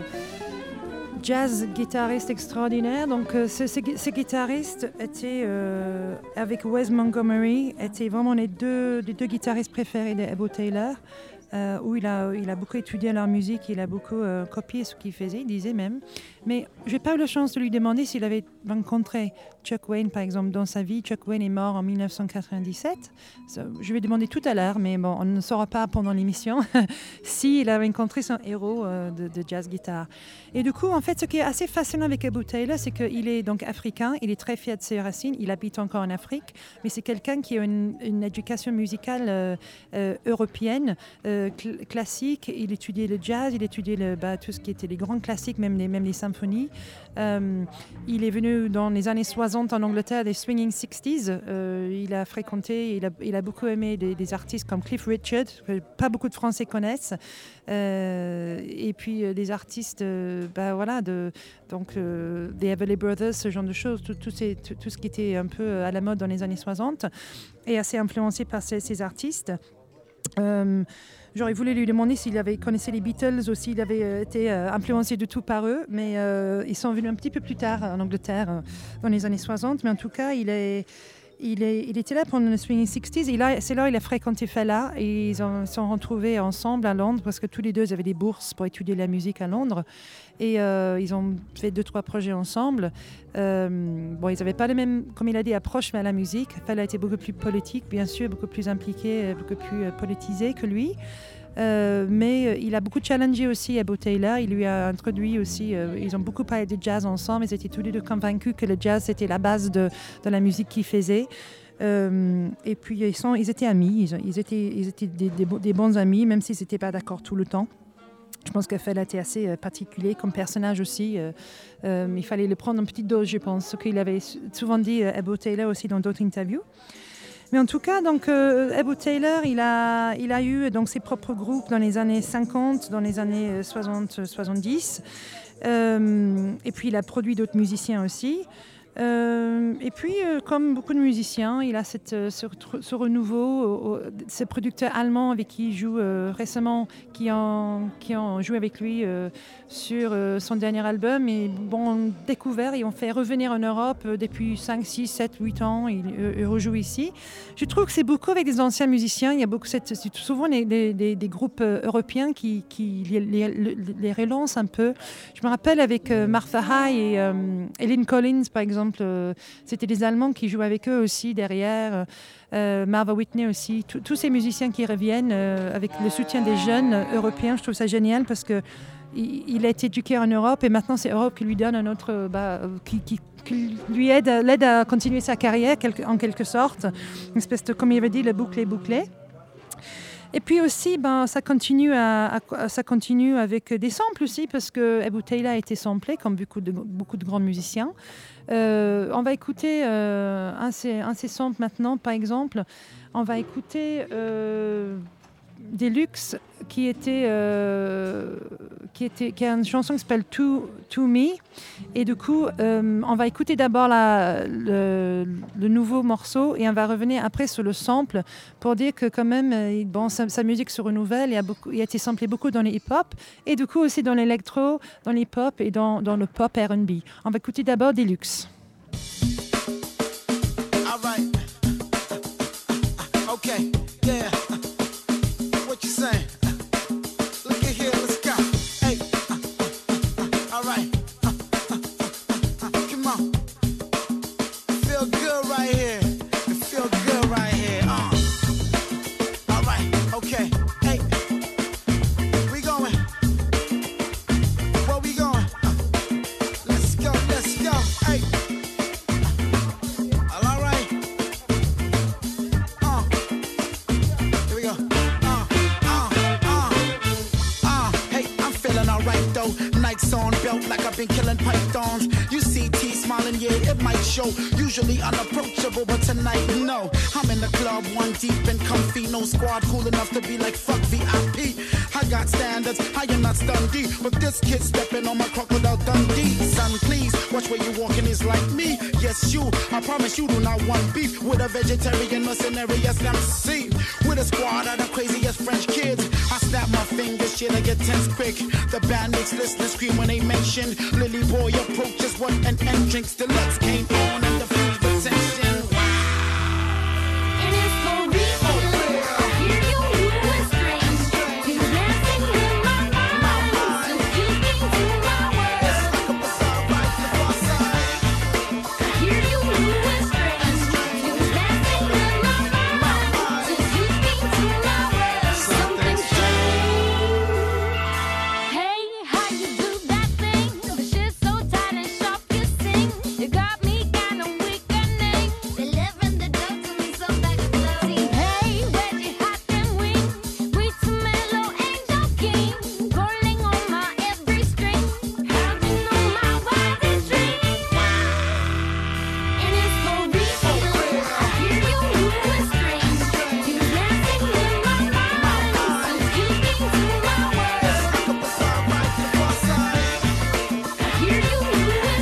jazz guitariste extraordinaire. Donc euh, ce, ce, ce guitariste était euh, avec Wes Montgomery, étaient vraiment les deux, les deux guitaristes préférés d'Ebo Taylor. Euh, où il a, il a beaucoup étudié leur musique, il a beaucoup euh, copié ce qu'il faisait, il disait même. Mais je n'ai pas eu la chance de lui demander s'il avait rencontré Chuck Wayne, par exemple, dans sa vie. Chuck Wayne est mort en dix-neuf cent quatre-vingt-dix-sept. Je vais demander tout à l'heure, mais bon, on ne saura pas pendant l'émission s'il a rencontré son héros euh, de, de jazz guitare. Et du coup, en fait, ce qui est assez fascinant avecEbo Taylor, c'est qu'il est donc africain, il est très fier de ses racines, il habite encore en Afrique, mais c'est quelqu'un qui a une, une éducation musicale euh, euh, européenne, euh, cl- classique. Il étudiait le jazz, il étudiait le, bah, tout ce qui était les grands classiques, même les, même les symphonies. Euh, il est venu dans les années soixante en Angleterre, des swinging sixties. Euh, il a fréquenté, il a, il a beaucoup aimé des, des artistes comme Cliff Richard, que pas beaucoup de Français connaissent. Euh, et puis euh, des artistes, euh, bah, voilà, de, donc euh, des Everly Brothers, ce genre de choses, tout, tout, ces, tout, tout ce qui était un peu à la mode dans les années soixante, et assez influencé par ces, ces artistes. Euh, J'aurais voulu lui demander s'il avait connaissait les Beatles ou s'il avait euh, été euh, influencé du tout par eux, mais euh, ils sont venus un petit peu plus tard en Angleterre, euh, dans les années soixante. Mais en tout cas, il est... Il, est, il était là pendant le swinging sixties. Et là, c'est là qu'il a fréquenté Fela. Et ils se sont retrouvés ensemble à Londres parce que tous les deux avaient des bourses pour étudier la musique à Londres. Et euh, ils ont fait deux, trois projets ensemble. Euh, bon, ils n'avaient pas la même, comme il a dit, approche à la musique. Fela était beaucoup plus politique, bien sûr, beaucoup plus impliqué, beaucoup plus euh, politisé que lui. Euh, mais euh, il a beaucoup challengé aussiEbo Taylor. Il lui a introduit aussi, euh, ils ont beaucoup parlé de jazz ensemble. Ils étaient tous les deux convaincus que le jazz c'était la base de, de la musique qu'ils faisaient. Euh, et puis ils, sont, ils étaient amis, ils, ils étaient, ils étaient des, des, des bons amis, même s'ils n'étaient pas d'accord tout le temps. Je pense que Fela était assez euh, particulier comme personnage aussi. Euh, euh, il fallait le prendre en petite dose, je pense. Ce qu'il avait souvent dit euh,Ebo Taylor aussi dans d'autres interviews. Mais en tout cas, donc, euh,Ebo Taylor, il a, il a eu donc, ses propres groupes dans les années cinquante, dans les années soixante soixante-dix. Euh, et puis, il a produit d'autres musiciens aussi. Euh, et puis, euh, comme beaucoup de musiciens, il a cette, ce, ce renouveau, euh, ces producteurs allemands avec qui il joue euh, récemment, qui ont, qui ont joué avec lui euh, sur euh, son dernier album, et bon, découvert et ont fait revenir en Europe euh, depuis cinq, six, sept, huit ans. Il, euh, il rejoue ici. Je trouve que c'est beaucoup avec des anciens musiciens. Il y a beaucoup, cette, c'est souvent des, des, des groupes euh, européens qui, qui les, les, les relancent un peu. Je me rappelle avec euh, Martha High et, euh, et Lynn Collins, par exemple. Euh, c'était des Allemands qui jouaient avec eux aussi derrière, euh, Marva Whitney aussi, Tout, tous ces musiciens qui reviennent euh, avec le soutien des jeunes euh, européens. Je trouve ça génial parce que il, il a été éduqué en Europe et maintenant c'est Europe qui lui donne un autre, bah, qui, qui, qui lui aide, l'aide à continuer sa carrière en quelque sorte, une espèce de, comme il avait dit, le bouclé bouclé. Et puis aussi, ben, ça, continue à, à, ça continue avec des samples aussi, parce queEbo Taylor a été samplé, comme beaucoup de, beaucoup de grands musiciens. Euh, on va écouter euh, un, un de ces samples maintenant, par exemple. On va écouter euh, Deluxe, qui était, euh, qui, était, qui a une chanson qui s'appelle To, to Me. Et du coup, euh, on va écouter d'abord la, le, le nouveau morceau et on va revenir après sur le sample pour dire que quand même, bon, sa, sa musique se renouvelle. Il a, beaucoup, il a été samplé beaucoup dans les hip-hop et du coup aussi dans l'électro, dans les pop et dans, dans le pop R and B. On va écouter d'abord Deluxe. All right. Okay, yeah. What you saying? Look at here, let's go. Hey. All right. Come on. Feel good right here. It feel good right here. Uh. All right. Okay. Hey. We going. Where we going? Uh. Let's go. Let's go. Hey. All right. Uh. Here we go. Uh. Uh. Uh. Uh. Hey, I'm feeling alright though. Nikes on belt like I've been killing pythons. You see T smiling, yeah, it might show. Usually unapproachable, but tonight, no. I'm in the club, one deep and comfy. No squad cool enough to be like fuck V I P. I got standards, I am not Dundee, but this kid stepping on my crocodile Dundee. Son, please, watch where you walking is like me. Yes, you, I promise you do not want beef with a vegetarian mercenary as M C. With a squad of the craziest French kids. I snap my fingers, shit, I get tense quick. The band makes listeners scream when they mention Lily Boy approaches what an entrance deluxe came on and diffused the tension. And it's for real. I hear you whispering. You dancing in my mind. So speaking to my words. I hear you whispering. You dancing in my mind. So speaking to my words. Something's changed. Hey, how you do that thing? The shit's so tight and sharp you sing. You got me kinda weakening. Delivering the dope to me so back and bloody. Hey, where'd you hide them wings? Sweet to mellow angel king. Calling on my every string. How'd you know my wildest dream? And it's for real. I hear you whispering. You dancing in my mind. So speaking to my words. I hear you whispering. You dancing in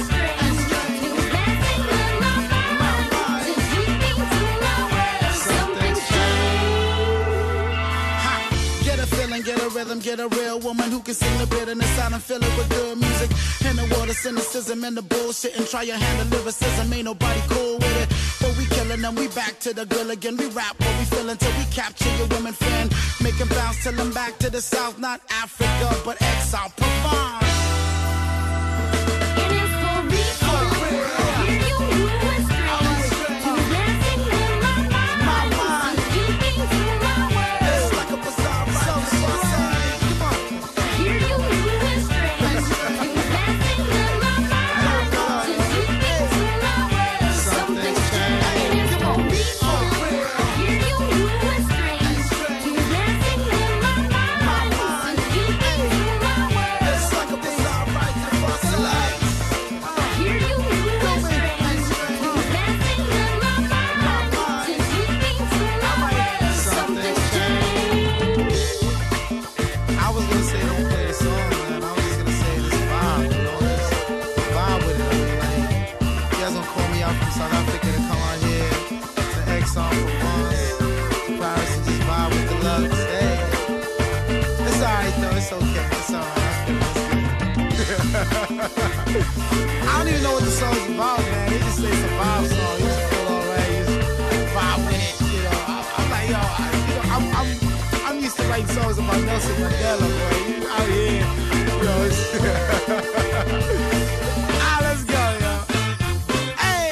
my mind. So speaking to my words. Something's changed. Ha! Get a feeling, get a rhythm, get a real woman who can sing the bitterness out and fill it with good music. In the world of cynicism and the bullshit, and try your hand at lyricism, ain't nobody cool with it. But we killing them, we back to the girl again. We rap what we feel until we capture your women fan. Make them bounce till I'm back to the south, not Africa, but exile, Provence. And it's for real. I hear you whispering. You dancing in my mind. So speaking to my words. It's like a bazaar, right? That's what I say. Come on. I hear you whispering. You dancing in my mind. So speaking to my words. Something's changed. And it's for real. I hear you whispering. You dancing in my mind. So speaking to my words. It's like a bazaar, right? That's what I say. I hear you whispering. You dancing in my mind. So speaking to my words. Something's changed. I was gonna say don't play the song, man. I was just gonna say this vibe, you know, this vibe with it. I mean, like, you guys gonna call me out from South Africa to come out here to Exxon for months, Paris and just vibe with the love. Hey, it's alright though. It's okay. It's alright. I feel it. It's good. I don't even know what the song's about, man. They just say it's a vibe song. You just feel alright. You just vibe with it. You know, I, I'm like, yo, I, you know, I'm, I'm, I'm used to writing songs about Nelson Mandela, boy. You out here, you know. It's ah, let's go, yo. Hey.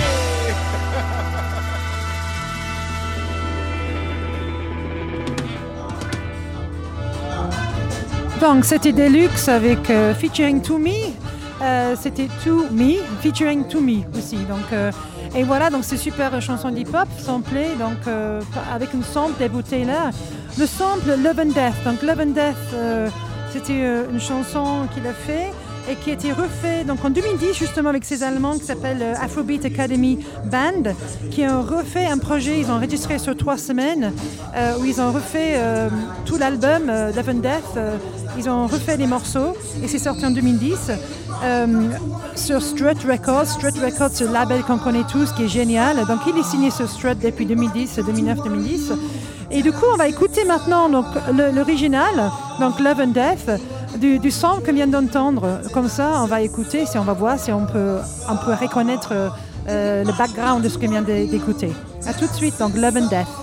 Donc c'était Deluxe avec euh, featuring To Me. Euh, c'était To Me featuring To Me aussi. Donc euh, et voilà, donc c'est super chanson d'hip-hop samplée donc euh, avec une sample d'Ebou Taylor. Le sample Love and Death. Donc Love and Death, euh, c'était euh, une chanson qu'il a fait et qui a été refait donc en deux mille dix justement avec ces Allemands qui s'appellent euh, Afrobeat Academy Band, qui ont refait un projet, ils ont enregistré sur trois semaines euh, où ils ont refait euh, tout l'album euh, Love and Death, euh, ils ont refait les morceaux et c'est sorti en deux mille dix euh, sur Strut Records. Strut Records, c'est le label qu'on connaît tous qui est génial, donc il est signé sur Strut depuis deux mille dix, deux mille neuf, deux mille dix. Et du coup, on va écouter maintenant donc, le, l'original, donc Love and Death, du, du son qu'on vient d'entendre. Comme ça, on va écouter, si on va voir si on peut, on peut reconnaître euh, le background de ce qu'on vient d'écouter. À tout de suite, donc Love and Death.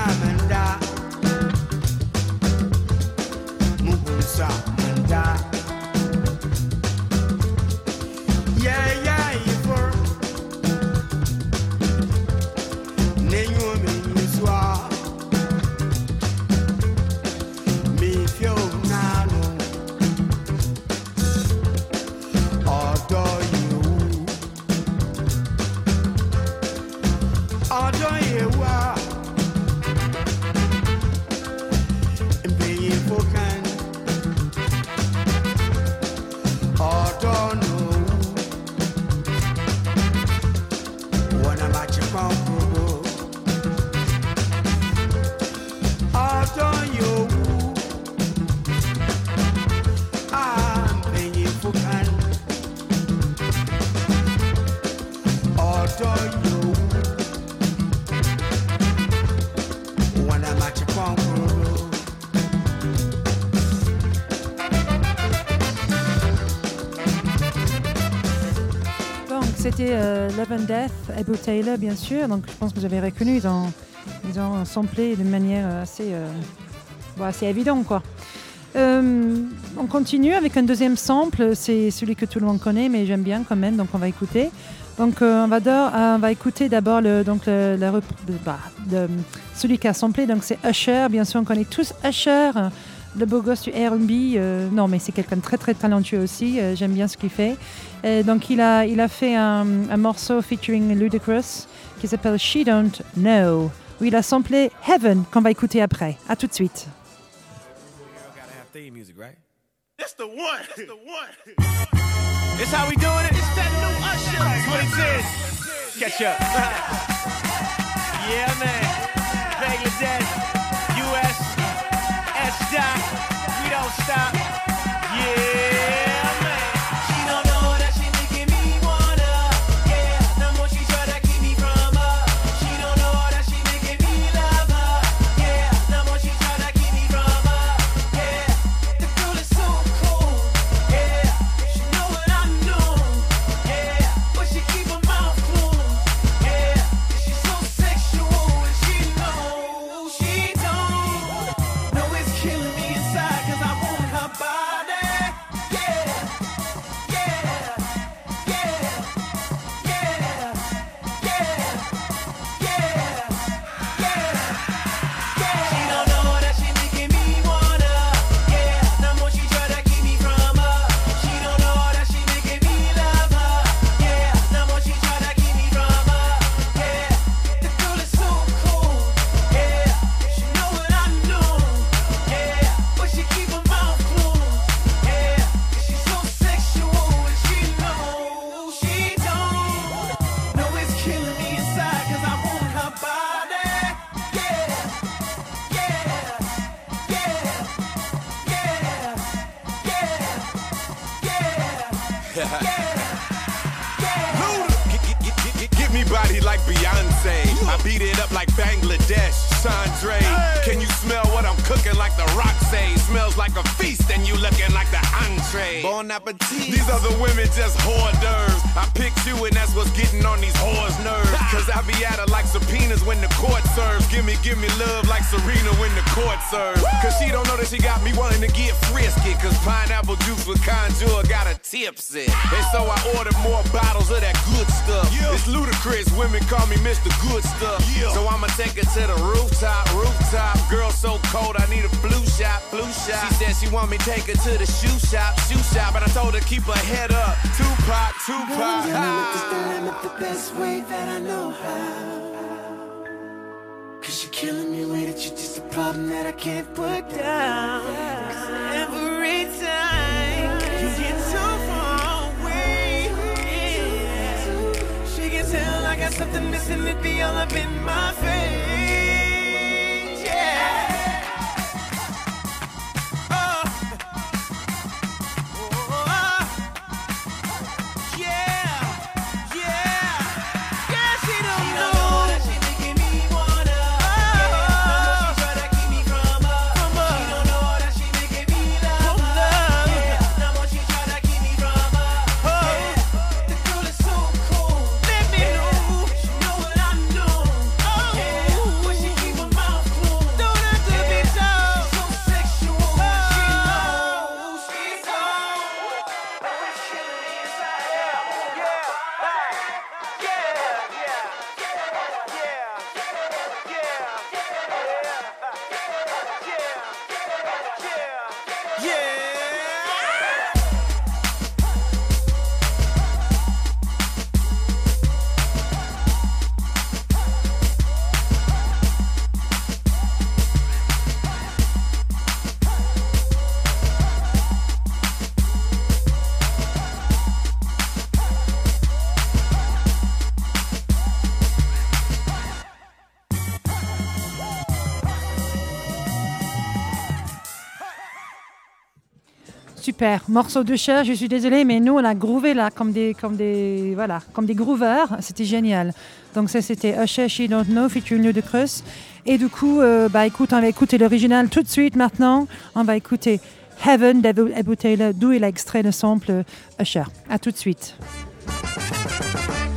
Mugunsa Manda. c'était euh, Love and Death, Abu Taylor, bien sûr. Donc, je pense que vous avez reconnu. Ils ont, ils ont samplé de manière assez, euh, bon, assez évidente, quoi. Euh, on continue avec un deuxième sample. C'est celui que tout le monde connaît, mais j'aime bien quand même. Donc, on va écouter. Donc, euh, on, va d'or, euh, on va écouter d'abord le, donc le, la rep- bah, de, celui qui a samplé. Donc, c'est Usher. Bien sûr, on connaît tous Usher. Le beau gosse du R and B, euh, non mais c'est quelqu'un de très très talentueux aussi, euh, j'aime bien ce qu'il fait. Et donc il a, il a fait un, un morceau featuring Ludacris qui s'appelle She Don't Know, où il a samplé Heaven qu'on va écouter après. À tout de suite. It's the one. It's the one. It's how we doing it. It's that new Usher. twenty ten. Catch up. Yeah, man. Bangladesh, U S, S-Dot. We don't stop. Yeah, man. She don't know that she making me wanna. Yeah, the more she try to keep me from her. She don't know that she making me love her. Yeah, the more she try to keep me from her. Yeah, the girl is so cool. Yeah, she know what I know. Yeah, but she keep her mouth closed. Yeah, she's so sexual and she knows she don't know it's killing me inside 'cause I want her body. Yeah, yeah, yeah, yeah, yeah, yeah, yeah. She don't know that she making me wanna. Yeah, the more she try to keep me from her. She don't know that she making me love her. Yeah, the more she try to keep me from her. Yeah, the girl is so cool. Yeah, she know what I know. Yeah, but she keep her mouth closed. Yeah, she's so sexual and she knows she don't know it's killing me inside 'cause I want her body. Yeah, yeah, yeah, yeah, yeah, yeah, yeah. Get, get, get, get, get me body like Beyonce. I beat it up like Bangladesh, Chandre. Can you smell what I'm cooking like the rock say? Smells like a feast and you looking like the entree. Bon appetit. These other women just hors d'oeuvres. I picked you and that's what's getting on these whores' nerves. Cause I be at her like subpoenas when the court serves. Give me, give me love like Serena when the court serves. Cause she don't know that she got me wanting to get frisky. Cause pineapple juice with conjure got her tipsy. And so I ordered more bottles of that good stuff. It's ludicrous, women call me Mister Good Stuff. So I'ma take her to the rooftop, rooftop. Girl so cold I need a flu shot, flu shot. She said she want me take her to the shoe shop, shoe shop. And I told her keep her head up, Tupac, Tupac. The best way that I know how. Cause you're killing me with it, you're just a problem that I can't put down. 'Cause every time you get too far away, yeah. She can tell I got something missing, it be all up in my face, yeah. Oh. Oh. Yeah. Yeah. Yeah, she don't know that she making me wanna. Oh. She try to keep me from her. From her. She don't know that she making me love her. Yeah. The more she try to keep me from her. Oh. Yeah. The girl is so cool. Let me know. She know what I know. Oh. Yeah. But she keep her mouth closed. Don't have to be told. She's so sexual. Oh. She knows she's on. Oh, it's killing me inside. Yeah. Yeah. Yeah. Yeah. Yeah. Yeah. Yeah. Super, morceau de chair, je suis désolée, mais nous on a groové là comme des, comme des, voilà, comme des grooveurs, c'était génial. Donc ça c'était Usher, She Don't Know, featuring Ludacris. Et du coup, euh, bah écoute, on va écouter l'original tout de suite maintenant. On va écouter Heaven d'Abu Taylor, d'où il a extrait le sample Usher. À tout de suite. Yeah.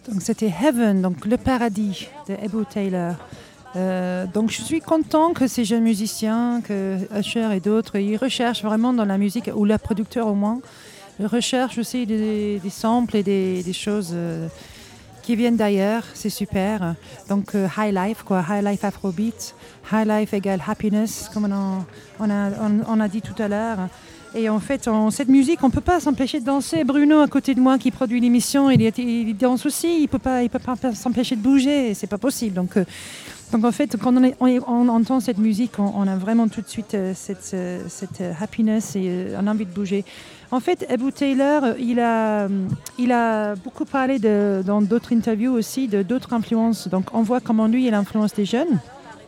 Donc c'était Heaven, donc le paradis de Ebou Taylor. Euh, donc je suis content que ces jeunes musiciens, que Usher et d'autres, ils recherchent vraiment dans la musique, ou leurs producteurs au moins, ils recherchent aussi des, des samples et des, des choses euh, qui viennent d'ailleurs, c'est super. Donc euh, High Life, quoi, High Life Afrobeat, High Life égale Happiness, comme on a, on a, on, on a dit tout à l'heure. Et en fait, en, cette musique, on ne peut pas s'empêcher de danser. Bruno, à côté de moi, qui produit l'émission, il, il danse aussi. Il ne peut pas, il peut pas s'empêcher de bouger. Ce n'est pas possible. Donc, euh, donc, en fait, quand on, est, on, on entend cette musique, on, on a vraiment tout de suite euh, cette, euh, cette euh, happiness et euh, on a envie de bouger. En fait, Ebou Taylor, il a, il a beaucoup parlé de, dans d'autres interviews aussi de d'autres influences. Donc, on voit comment lui, il influence des jeunes.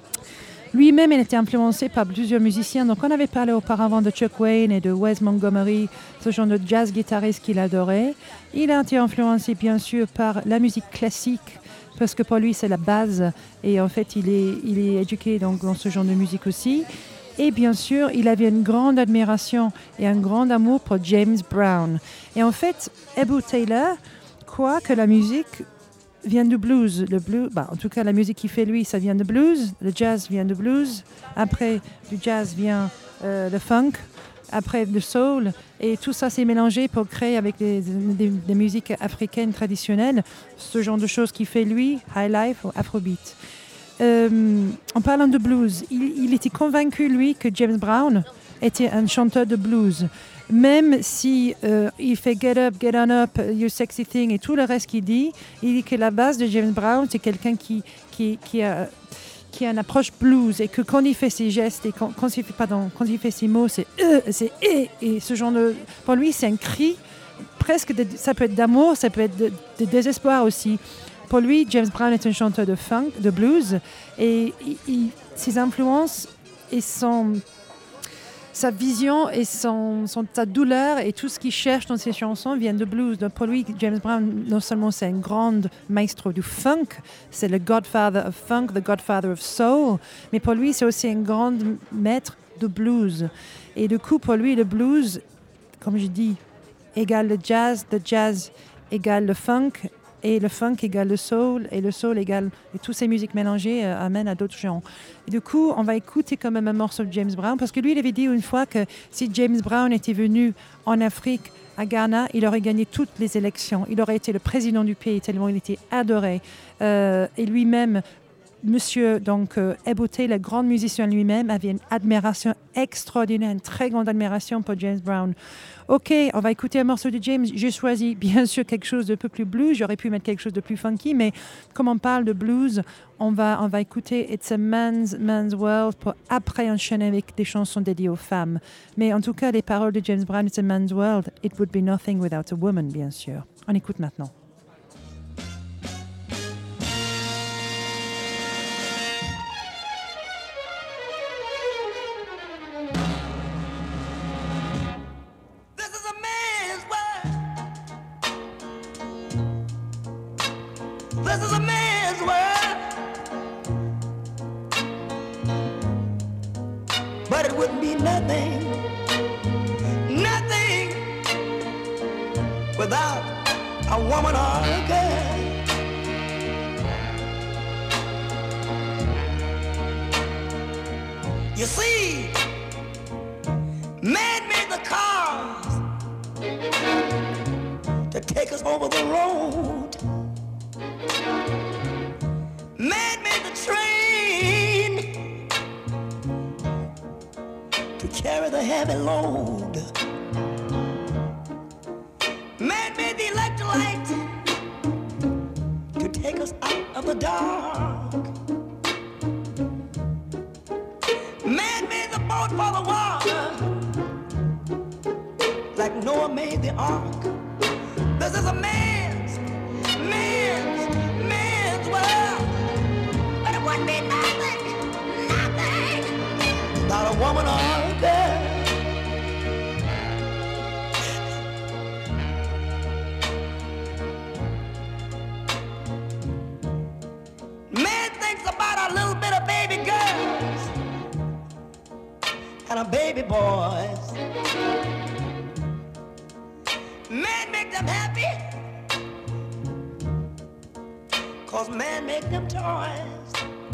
Lui-même, il était influencé par plusieurs musiciens. Donc, on avait parlé auparavant de Chuck Wayne et de Wes Montgomery, ce genre de jazz guitariste qu'il adorait. Il a été influencé, bien sûr, par la musique classique, parce que pour lui, c'est la base. Et en fait, il est, il est éduqué donc, dans ce genre de musique aussi. Et bien sûr, il avait une grande admiration et un grand amour pour James Brown. Et en fait, Ebou Taylor croit que la musique vient du blues. Le blues, bah, en tout cas, la musique qu'il fait lui, ça vient de blues. Le jazz vient de blues. Après, du jazz vient euh, le funk. Après, le soul. Et tout ça s'est mélangé pour créer avec des, des, des musiques africaines traditionnelles ce genre de choses qu'il fait lui, High Life ou Afrobeat. Euh, en parlant de blues, il, il était convaincu, lui, que James Brown était un chanteur de blues. Même si euh, il fait Get Up, Get On Up, You Sexy Thing et tout le reste qu'il dit, il dit que la base de James Brown, c'est quelqu'un qui, qui, qui, a, qui a une approche blues et que quand il fait ses gestes et quand, quand, il, fait, pardon, quand il fait ses mots, c'est euh, c'est et, et ce genre de... Pour lui, c'est un cri, presque, de, ça peut être d'amour, ça peut être de, de désespoir aussi. Pour lui, James Brown est un chanteur de funk, de blues, et il, il, ses influences et son... sa vision et son, son, sa douleur et tout ce qu'il cherche dans ses chansons viennent de blues. Donc pour lui, James Brown, non seulement c'est un grand maestro du funk, c'est le godfather of funk, the godfather of soul, mais pour lui, c'est aussi un grand maître de blues. Et du coup, pour lui, le blues, comme je dis, égale le jazz, le jazz égale le funk, et le funk égale le soul, et le soul égale... Et toutes ces musiques mélangées euh, amènent à d'autres genres. Et du coup, on va écouter quand même un morceau de James Brown, parce que lui, il avait dit une fois que si James Brown était venu en Afrique, à Ghana, il aurait gagné toutes les élections. Il aurait été le président du pays, tellement il était adoré. Euh, et lui-même, Monsieur donc, euh, Ebou Taylor, le grand musicien lui-même, avait une admiration extraordinaire, une très grande admiration pour James Brown. Ok, on va écouter un morceau de James. J'ai choisi bien sûr quelque chose de peu plus blues. J'aurais pu mettre quelque chose de plus funky, mais comme on parle de blues, on va, on va écouter It's a Man's, Man's World pour après enchaîner avec des chansons dédiées aux femmes. Mais en tout cas, les paroles de James Brown, It's a Man's World, It would be nothing without a woman, bien sûr. On écoute maintenant. This is a man's world, but it wouldn't be nothing, nothing without a woman or a girl. You see, man made the cars to take us over the road. Man made the train to carry the heavy load. Man made the electric light to take us out of the dark. Man made the boat for the water, like Noah made the ark. This is a man's, man's, man's world. But it wouldn't be nothing, nothing without a woman or a girl. Man thinks about a little bit of baby girls and a baby boys. Man make them happy cause man make them toys.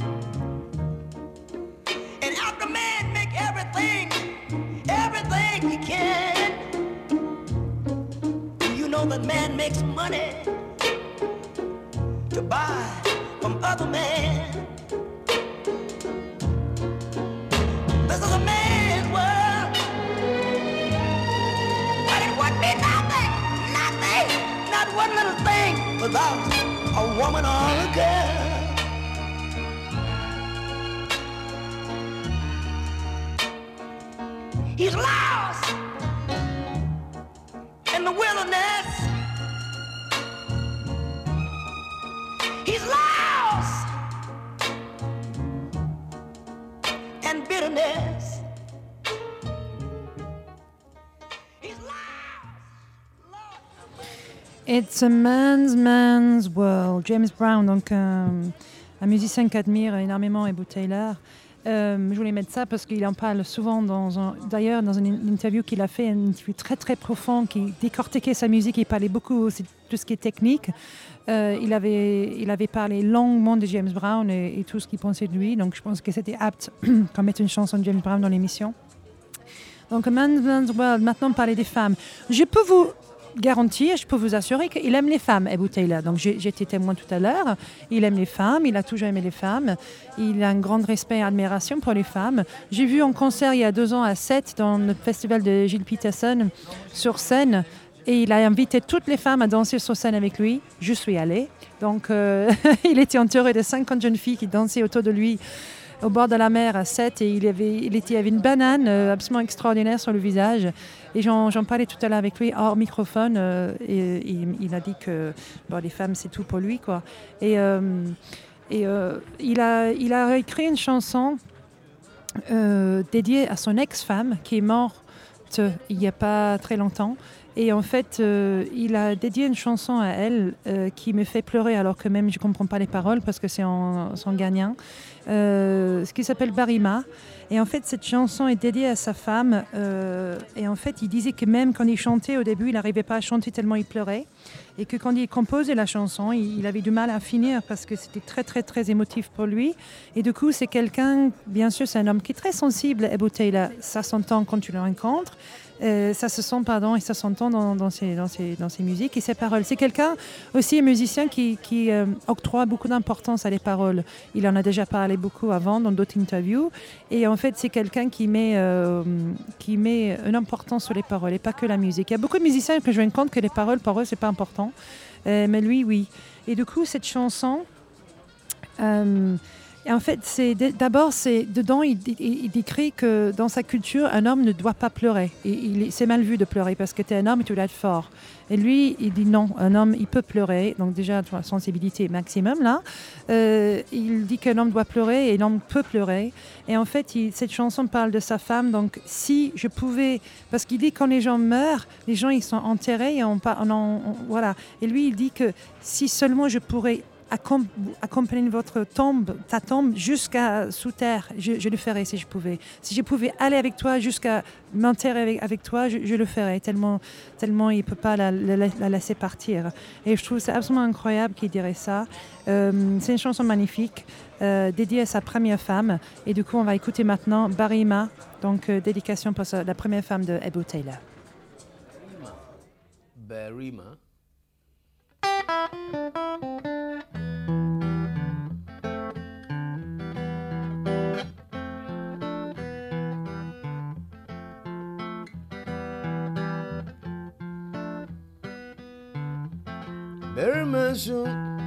And after man make everything, everything he can, you know that man makes money to buy from other men. This is a man's world, but it would be nothing, nothing, not one little thing without a woman or a girl. He's lost in the wilderness. He's lost in bitterness. He's lost. It's a man's man's world. James Brown, donc un, un musicien qu'admire énormément Ebou Taylor. Euh, je voulais mettre ça parce qu'il en parle souvent, dans un, d'ailleurs dans une interview qu'il a fait, une interview très très profonde, qui décortiquait sa musique, il parlait beaucoup aussi de tout ce qui est technique. Euh, il, avait, il avait parlé longuement de James Brown et, et tout ce qu'il pensait de lui, donc je pense que c'était apte qu'on mette une chanson de James Brown dans l'émission. Donc Man's Man's World, maintenant parler des femmes. Je peux vous garantir, je peux vous assurer qu'il aime les femmes, Ebou Taylor. Donc j'ai, j'étais témoin tout à l'heure. Il aime les femmes, il a toujours aimé les femmes. Il a un grand respect et admiration pour les femmes. J'ai vu en concert il y a deux ans à Sète, dans le festival de Gilles Peterson, sur scène. Et il a invité toutes les femmes à danser sur scène avec lui. Je suis allée. Donc euh, il était entouré de cinquante jeunes filles qui dansaient autour de lui au bord de la mer à Sète, et il avait, il était, il avait une banane euh, absolument extraordinaire sur le visage. Et j'en, j'en parlais tout à l'heure avec lui hors microphone, euh, et, et il a dit que bon, les femmes c'est tout pour lui, quoi. Et, euh, et euh, il a, il a écrit une chanson euh, dédiée à son ex-femme qui est morte il n'y a pas très longtemps. Et en fait, euh, il a dédié une chanson à elle euh, qui me fait pleurer, alors que même je ne comprends pas les paroles parce que c'est en sanguinien, euh, ce qui s'appelle Barima. Et en fait, cette chanson est dédiée à sa femme. Euh, et en fait, il disait que même quand il chantait au début, il n'arrivait pas à chanter tellement il pleurait. Et que quand il composait la chanson, il, il avait du mal à finir parce que c'était très, très, très émotif pour lui. Et du coup, c'est quelqu'un, bien sûr, c'est un homme qui est très sensible, Ebou Taylor. Ça s'entend quand tu le rencontres. Euh, ça se sent, pardon, et ça s'entend dans, dans, ses, dans, ses, dans ses musiques et ses paroles. C'est quelqu'un aussi, un musicien qui, qui euh, octroie beaucoup d'importance à les paroles. Il en a déjà parlé beaucoup avant dans d'autres interviews. Et en fait, c'est quelqu'un qui met, euh, qui met une importance sur les paroles et pas que la musique. Il y a beaucoup de musiciens que je rencontre que les paroles, pour eux, c'est pas important. Euh, mais lui, oui. Et du coup, cette chanson... Euh, Et en fait, c'est d'abord, c'est, dedans, il, il, il décrit que dans sa culture, un homme ne doit pas pleurer. Et il, c'est mal vu de pleurer parce que tu es un homme et tu dois être fort. Et lui, il dit non, un homme, il peut pleurer. Donc déjà, tu vois, sensibilité maximum, là. Euh, il dit qu'un homme doit pleurer et l'homme peut pleurer. Et en fait, il, cette chanson parle de sa femme. Donc si je pouvais... Parce qu'il dit que quand les gens meurent, les gens, ils sont enterrés. Et on, on, on, on, voilà. Et lui, il dit que si seulement je pourrais... accompagner votre tombe, ta tombe jusqu'à sous terre, je, je le ferais si je pouvais. Si je pouvais aller avec toi jusqu'à m'enterrer avec, avec toi, je, je le ferais, tellement, tellement il ne peut pas la, la, la laisser partir. Et je trouve c'est absolument incroyable qu'il dirait ça. Euh, c'est une chanson magnifique, euh, dédiée à sa première femme. Et du coup, on va écouter maintenant Barima, donc euh, dédication pour sa, la première femme de Ebou Taylor. Barima. Barima son,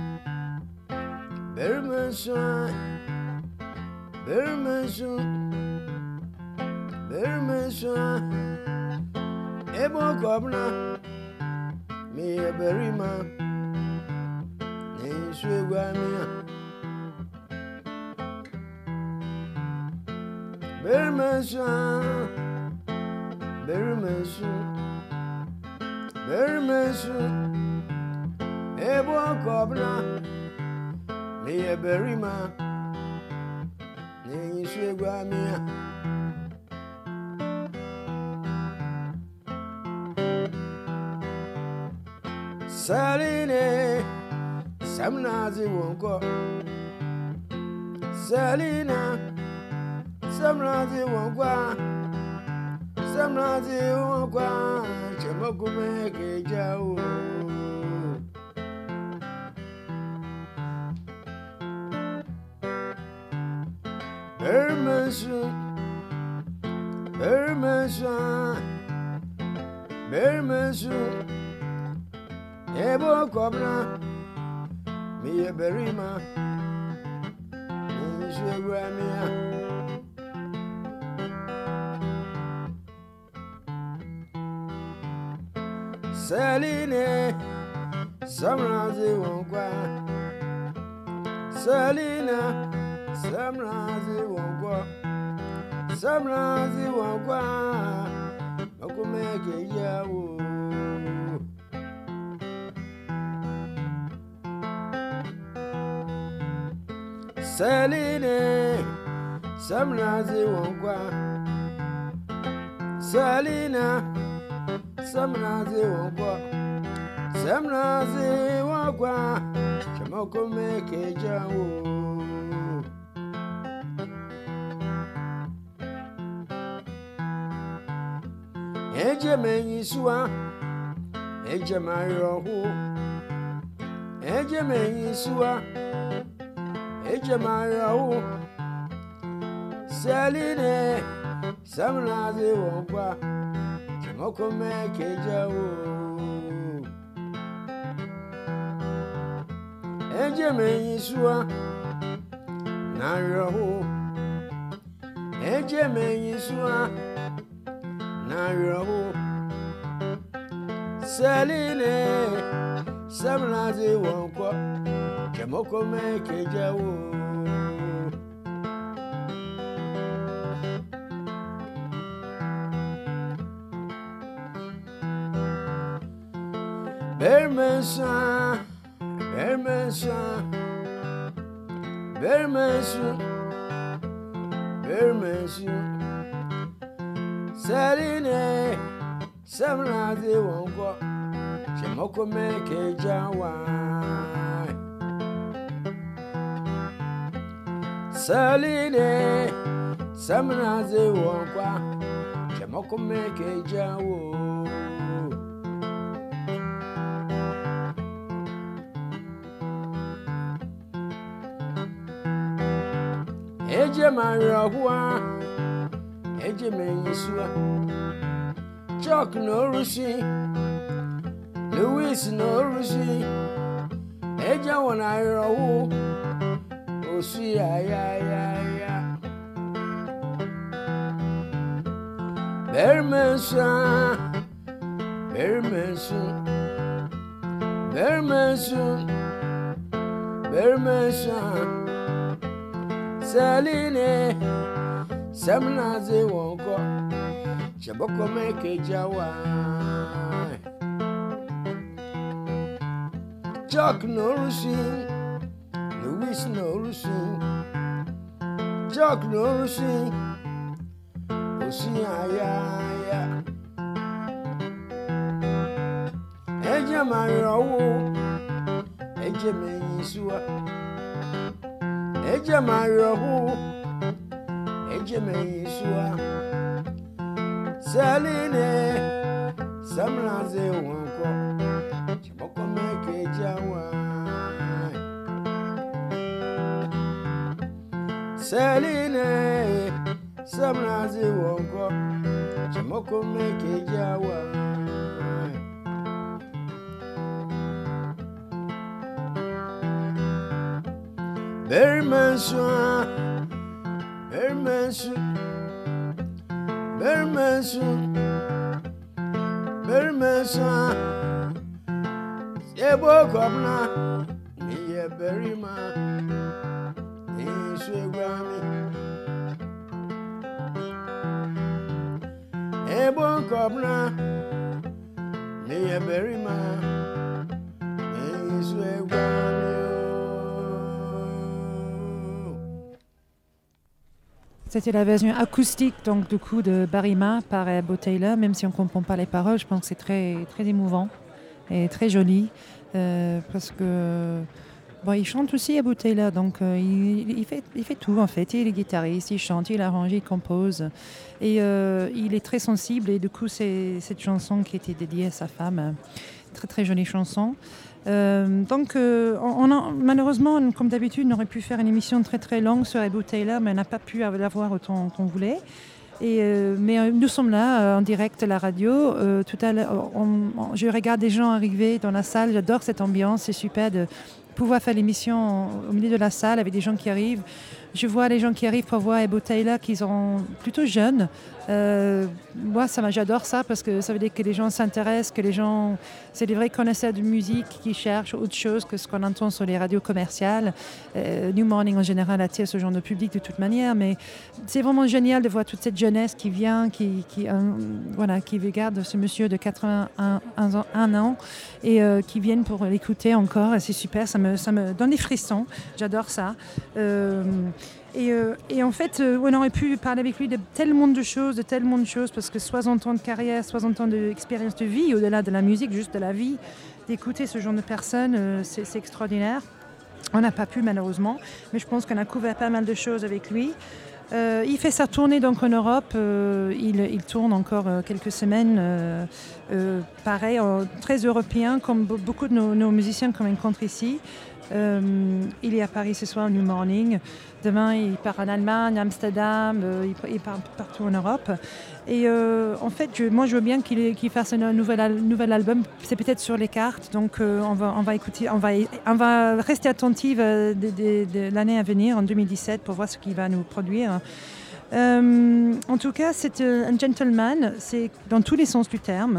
Barima son, Barima son, Barima son. Ebo kobna, me a Barima, ne suga mia. Barima son, Barima son, Barima son. Ebo kobna, me a Barima, ne suga mia. Saline, Samnazi won't go. Selena, Samnazi won't go. Samnazi won't go. Chamakume Kejao. Bermanson, Bermanson, Bermanson, Ebo Cobra, me a berima, me Gramia. Saline, Samrazi won't go. Salina. Samrazi won't go. Samrazi won't go. Makumeke yawo. Saline, Samrazi won't go. Salina, Samrazi won't go. Samrazi won't go. Makumeke yawo. Eje menyisua, eje mayohu, eje menyisua, eje mayohu. Saline, Samnazi won't Chimoko make jawo. Eje menyisua, nayohu, eje menyisua. Nayo Saline Samnazi wonko Chamoko make jawo Bermanson Bermanson Bermanson Bermanson Saline, Samnazi won't go. Chamoko make a jawa. Saline, Samnazi won't go. Chamoko make a jawo. Eje Maria. Eje menyisua Chuck no rushi Louis no rushi Eje wana irahu Osi ya ya ya ya Bermanson Bermanson Bermanson Bermanson Saline Samnazi won't go. Chaboko make a jawa. Chuck no rushing. Louis no rushing. Chuck no rushing. Osia ya ya. Eje Mario. Eje menyisua. Eje Mario. Eje menyisua Saline Samnazi wonko Chimoko make jawa Saline Samnazi wonko Chimoko make jawa Bermanson Bermanson Bermanson Bermanson Ebo Cobra Me a berima In Swami Ebo Cobra Me a berima In Swami. C'était la version acoustique donc du coup de Barima par Bo Taylor, même si on ne comprend pas les paroles, je pense que c'est très, très émouvant et très joli euh, parce que Bon, il chante aussi Ebou Taylor, donc euh, il, il, fait, il fait tout en fait. Il est guitariste, il chante, il arrange, il compose. Et euh, il est très sensible et du coup c'est cette chanson qui était dédiée à sa femme. Très très jolie chanson. Euh, donc euh, on a, malheureusement, comme d'habitude, on aurait pu faire une émission très très longue sur Ebou Taylor, mais on n'a pas pu la voir autant qu'on voulait. Et, euh, mais euh, nous sommes là euh, en direct à la radio. Euh, tout à l'heure, on- on- je regarde des gens arriver dans la salle. J'adore cette ambiance. C'est super de pouvoir faire l'émission au milieu de la salle avec des gens qui arrivent. Je vois les gens qui arrivent pour voir Ebou Taylor qui sont plutôt jeunes. Euh, moi, ça, m'a- j'adore ça parce que ça veut dire que les gens s'intéressent, que les gens, c'est des vrais connaisseurs de musique qui cherchent autre chose que ce qu'on entend sur les radios commerciales. Euh, New Morning en général attire ce genre de public de toute manière, mais c'est vraiment génial de voir toute cette jeunesse qui vient, qui, qui, euh, voilà, qui regarde ce monsieur de quatre-vingt-un ans, un an et euh, qui viennent pour l'écouter encore. Et c'est super, ça me, ça me donne des frissons. J'adore ça. Euh, et, euh, et en fait, euh, on aurait pu parler avec lui de tellement de choses, de tellement de choses, parce que soixante ans de carrière, soixante ans d'expérience de vie, au-delà de la musique, juste de la vie, d'écouter ce genre de personnes, euh, c'est, c'est extraordinaire. On n'a pas pu malheureusement, mais je pense qu'on a couvert pas mal de choses avec lui. Euh, il fait sa tournée donc en Europe, euh, il, il tourne encore euh, quelques semaines, euh, euh, pareil, euh, très européen, comme be- beaucoup de nos, nos musiciens qu'on rencontre ici. Euh, il est à Paris ce soir au New Morning. Demain, il part en Allemagne, Amsterdam, euh, il, il part partout en Europe. Et euh, en fait, je, moi, je veux bien qu'il, qu'il fasse un nouvel, al- nouvel album. C'est peut-être sur les cartes, donc euh, on, va, on va écouter, on va, on va rester attentive euh, de, de- de l'année à venir, en deux mille dix-sept, pour voir ce qu'il va nous produire. Euh, en tout cas, c'est euh, un gentleman, c'est dans tous les sens du terme.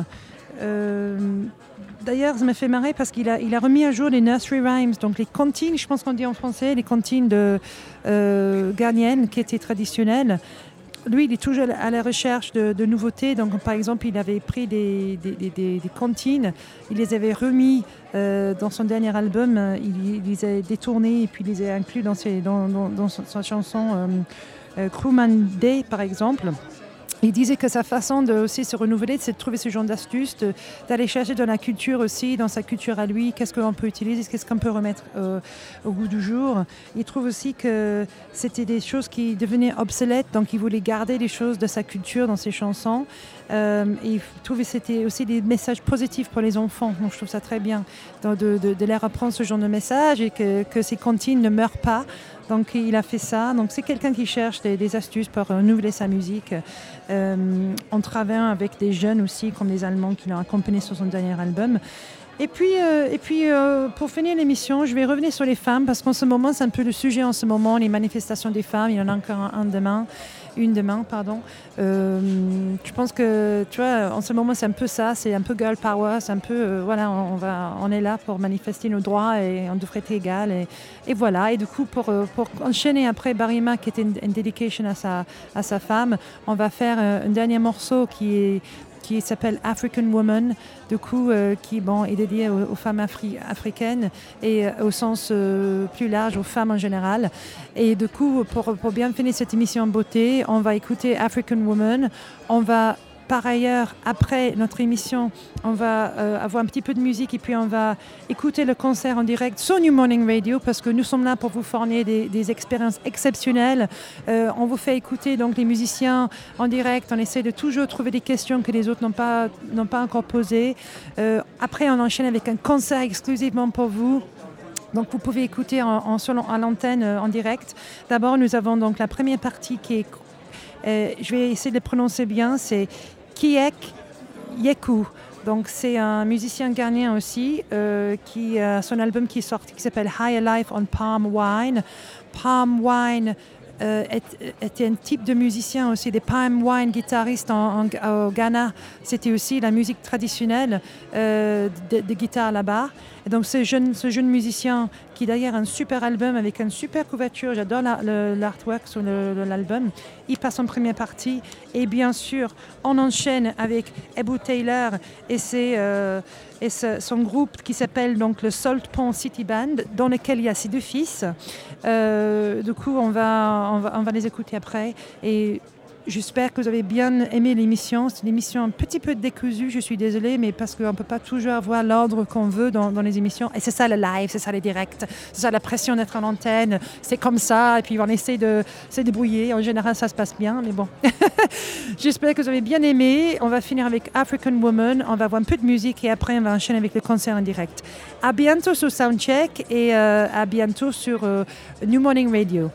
Euh, D'ailleurs, ça me fait marrer parce qu'il a, il a remis à jour les nursery rhymes, donc les comptines, je pense qu'on dit en français, les comptines de euh, ghanéennes qui étaient traditionnelles. Lui, il est toujours à la recherche de, de nouveautés. Donc, par exemple, il avait pris des, des, des, des- des comptines, il les avait remis euh, dans son dernier album, il, il les a détournés et puis il les a inclus dans, ses, dans, dans, dans sa sa chanson euh, euh, Crewman Day, par exemple. Il disait que sa façon de aussi se renouveler, c'est de trouver ce genre d'astuces, de- d'aller chercher dans la culture aussi, dans sa culture à lui, qu'est-ce qu'on peut utiliser, qu'est-ce qu'on peut remettre euh, au goût du jour. Il trouve aussi que c'était des choses qui devenaient obsolètes, donc il voulait garder les choses de sa culture dans ses chansons. Euh, et il trouvait que c'était aussi des messages positifs pour les enfants. Donc je trouve ça très bien de, de, de, de leur apprendre ce genre de message et que, que ces comptines ne meurent pas. Donc il a fait ça. Donc c'est quelqu'un qui cherche des, des astuces pour renouveler sa musique. Euh, on travaille avec des jeunes aussi, comme les Allemands qui l'ont accompagné sur son dernier album. Et puis, euh, et puis euh, pour finir l'émission, je vais revenir sur les femmes, parce qu'en ce moment, c'est un peu le sujet en ce moment, les manifestations des femmes. Il y en a encore un, un demain, une demain, pardon. Euh, je pense que, tu vois, en ce moment, c'est un peu ça, c'est un peu girl power, c'est un peu, euh, voilà, on, on va, on est là pour manifester nos droits et on devrait être égal. Et, et voilà, et du coup, pour, euh, pour enchaîner après Barima, qui était une, une dedication à sa, à sa femme, on va faire euh, un dernier morceau qui est qui s'appelle African Woman, du coup, euh, qui bon, est dédié aux, aux femmes afri- africaines et euh, au sens euh, plus large, aux femmes en général. Et du coup, pour, pour bien finir cette émission en beauté, on va écouter African Woman. On va, par ailleurs, après notre émission, on va euh, avoir un petit peu de musique et puis on va écouter le concert en direct sur New Morning Radio, parce que nous sommes là pour vous fournir des, des expériences exceptionnelles. Euh, on vous fait écouter donc les musiciens en direct. On essaie de toujours trouver des questions que les autres n'ont pas, n'ont pas encore posées. Euh, après, on enchaîne avec un concert exclusivement pour vous. Donc vous pouvez écouter en, en, sur l'an- à l'antenne euh, en direct. D'abord, nous avons donc la première partie qui est, euh, je vais essayer de le prononcer bien, c'est Kiek Yeku. Donc c'est un musicien ghanéen aussi euh, qui a son album qui est sorti qui s'appelle Higher Life on Palm Wine. Palm Wine euh, est- était un type de musicien aussi, des palm wine guitaristes en, en- au Ghana. C'était aussi la musique traditionnelle euh, de, de guitare là-bas. Et donc ce jeune, ce jeune musicien qui d'ailleurs a un super album avec une super couverture, j'adore la- le- l'artwork sur le- le- l'album, il passe en première partie. Et bien sûr, on enchaîne avec Ebou Taylor et, ses, euh, et ce- son groupe qui s'appelle donc le Salt Pond City Band, dans lequel il y a ses deux fils. Euh, du coup, on va, on, va, on va les écouter après. Et J'espère que vous avez bien aimé l'émission. C'est une émission un petit peu décousue, je suis désolée, mais parce qu'on ne peut pas toujours avoir l'ordre qu'on veut dans, dans les émissions. Et c'est ça le live, c'est ça les directs, c'est ça la pression d'être en antenne. C'est comme ça, et puis on essaie de se débrouiller. En général, ça se passe bien, mais bon. J'espère que vous avez bien aimé. On va finir avec African Woman. On va avoir un peu de musique et après, on va enchaîner avec le concert en direct. À bientôt sur Soundcheck et euh, à bientôt sur euh, New Morning Radio.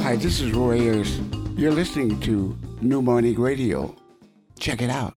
Hi, this is Roy Ayers. You're listening to New Morning Radio. Check it out.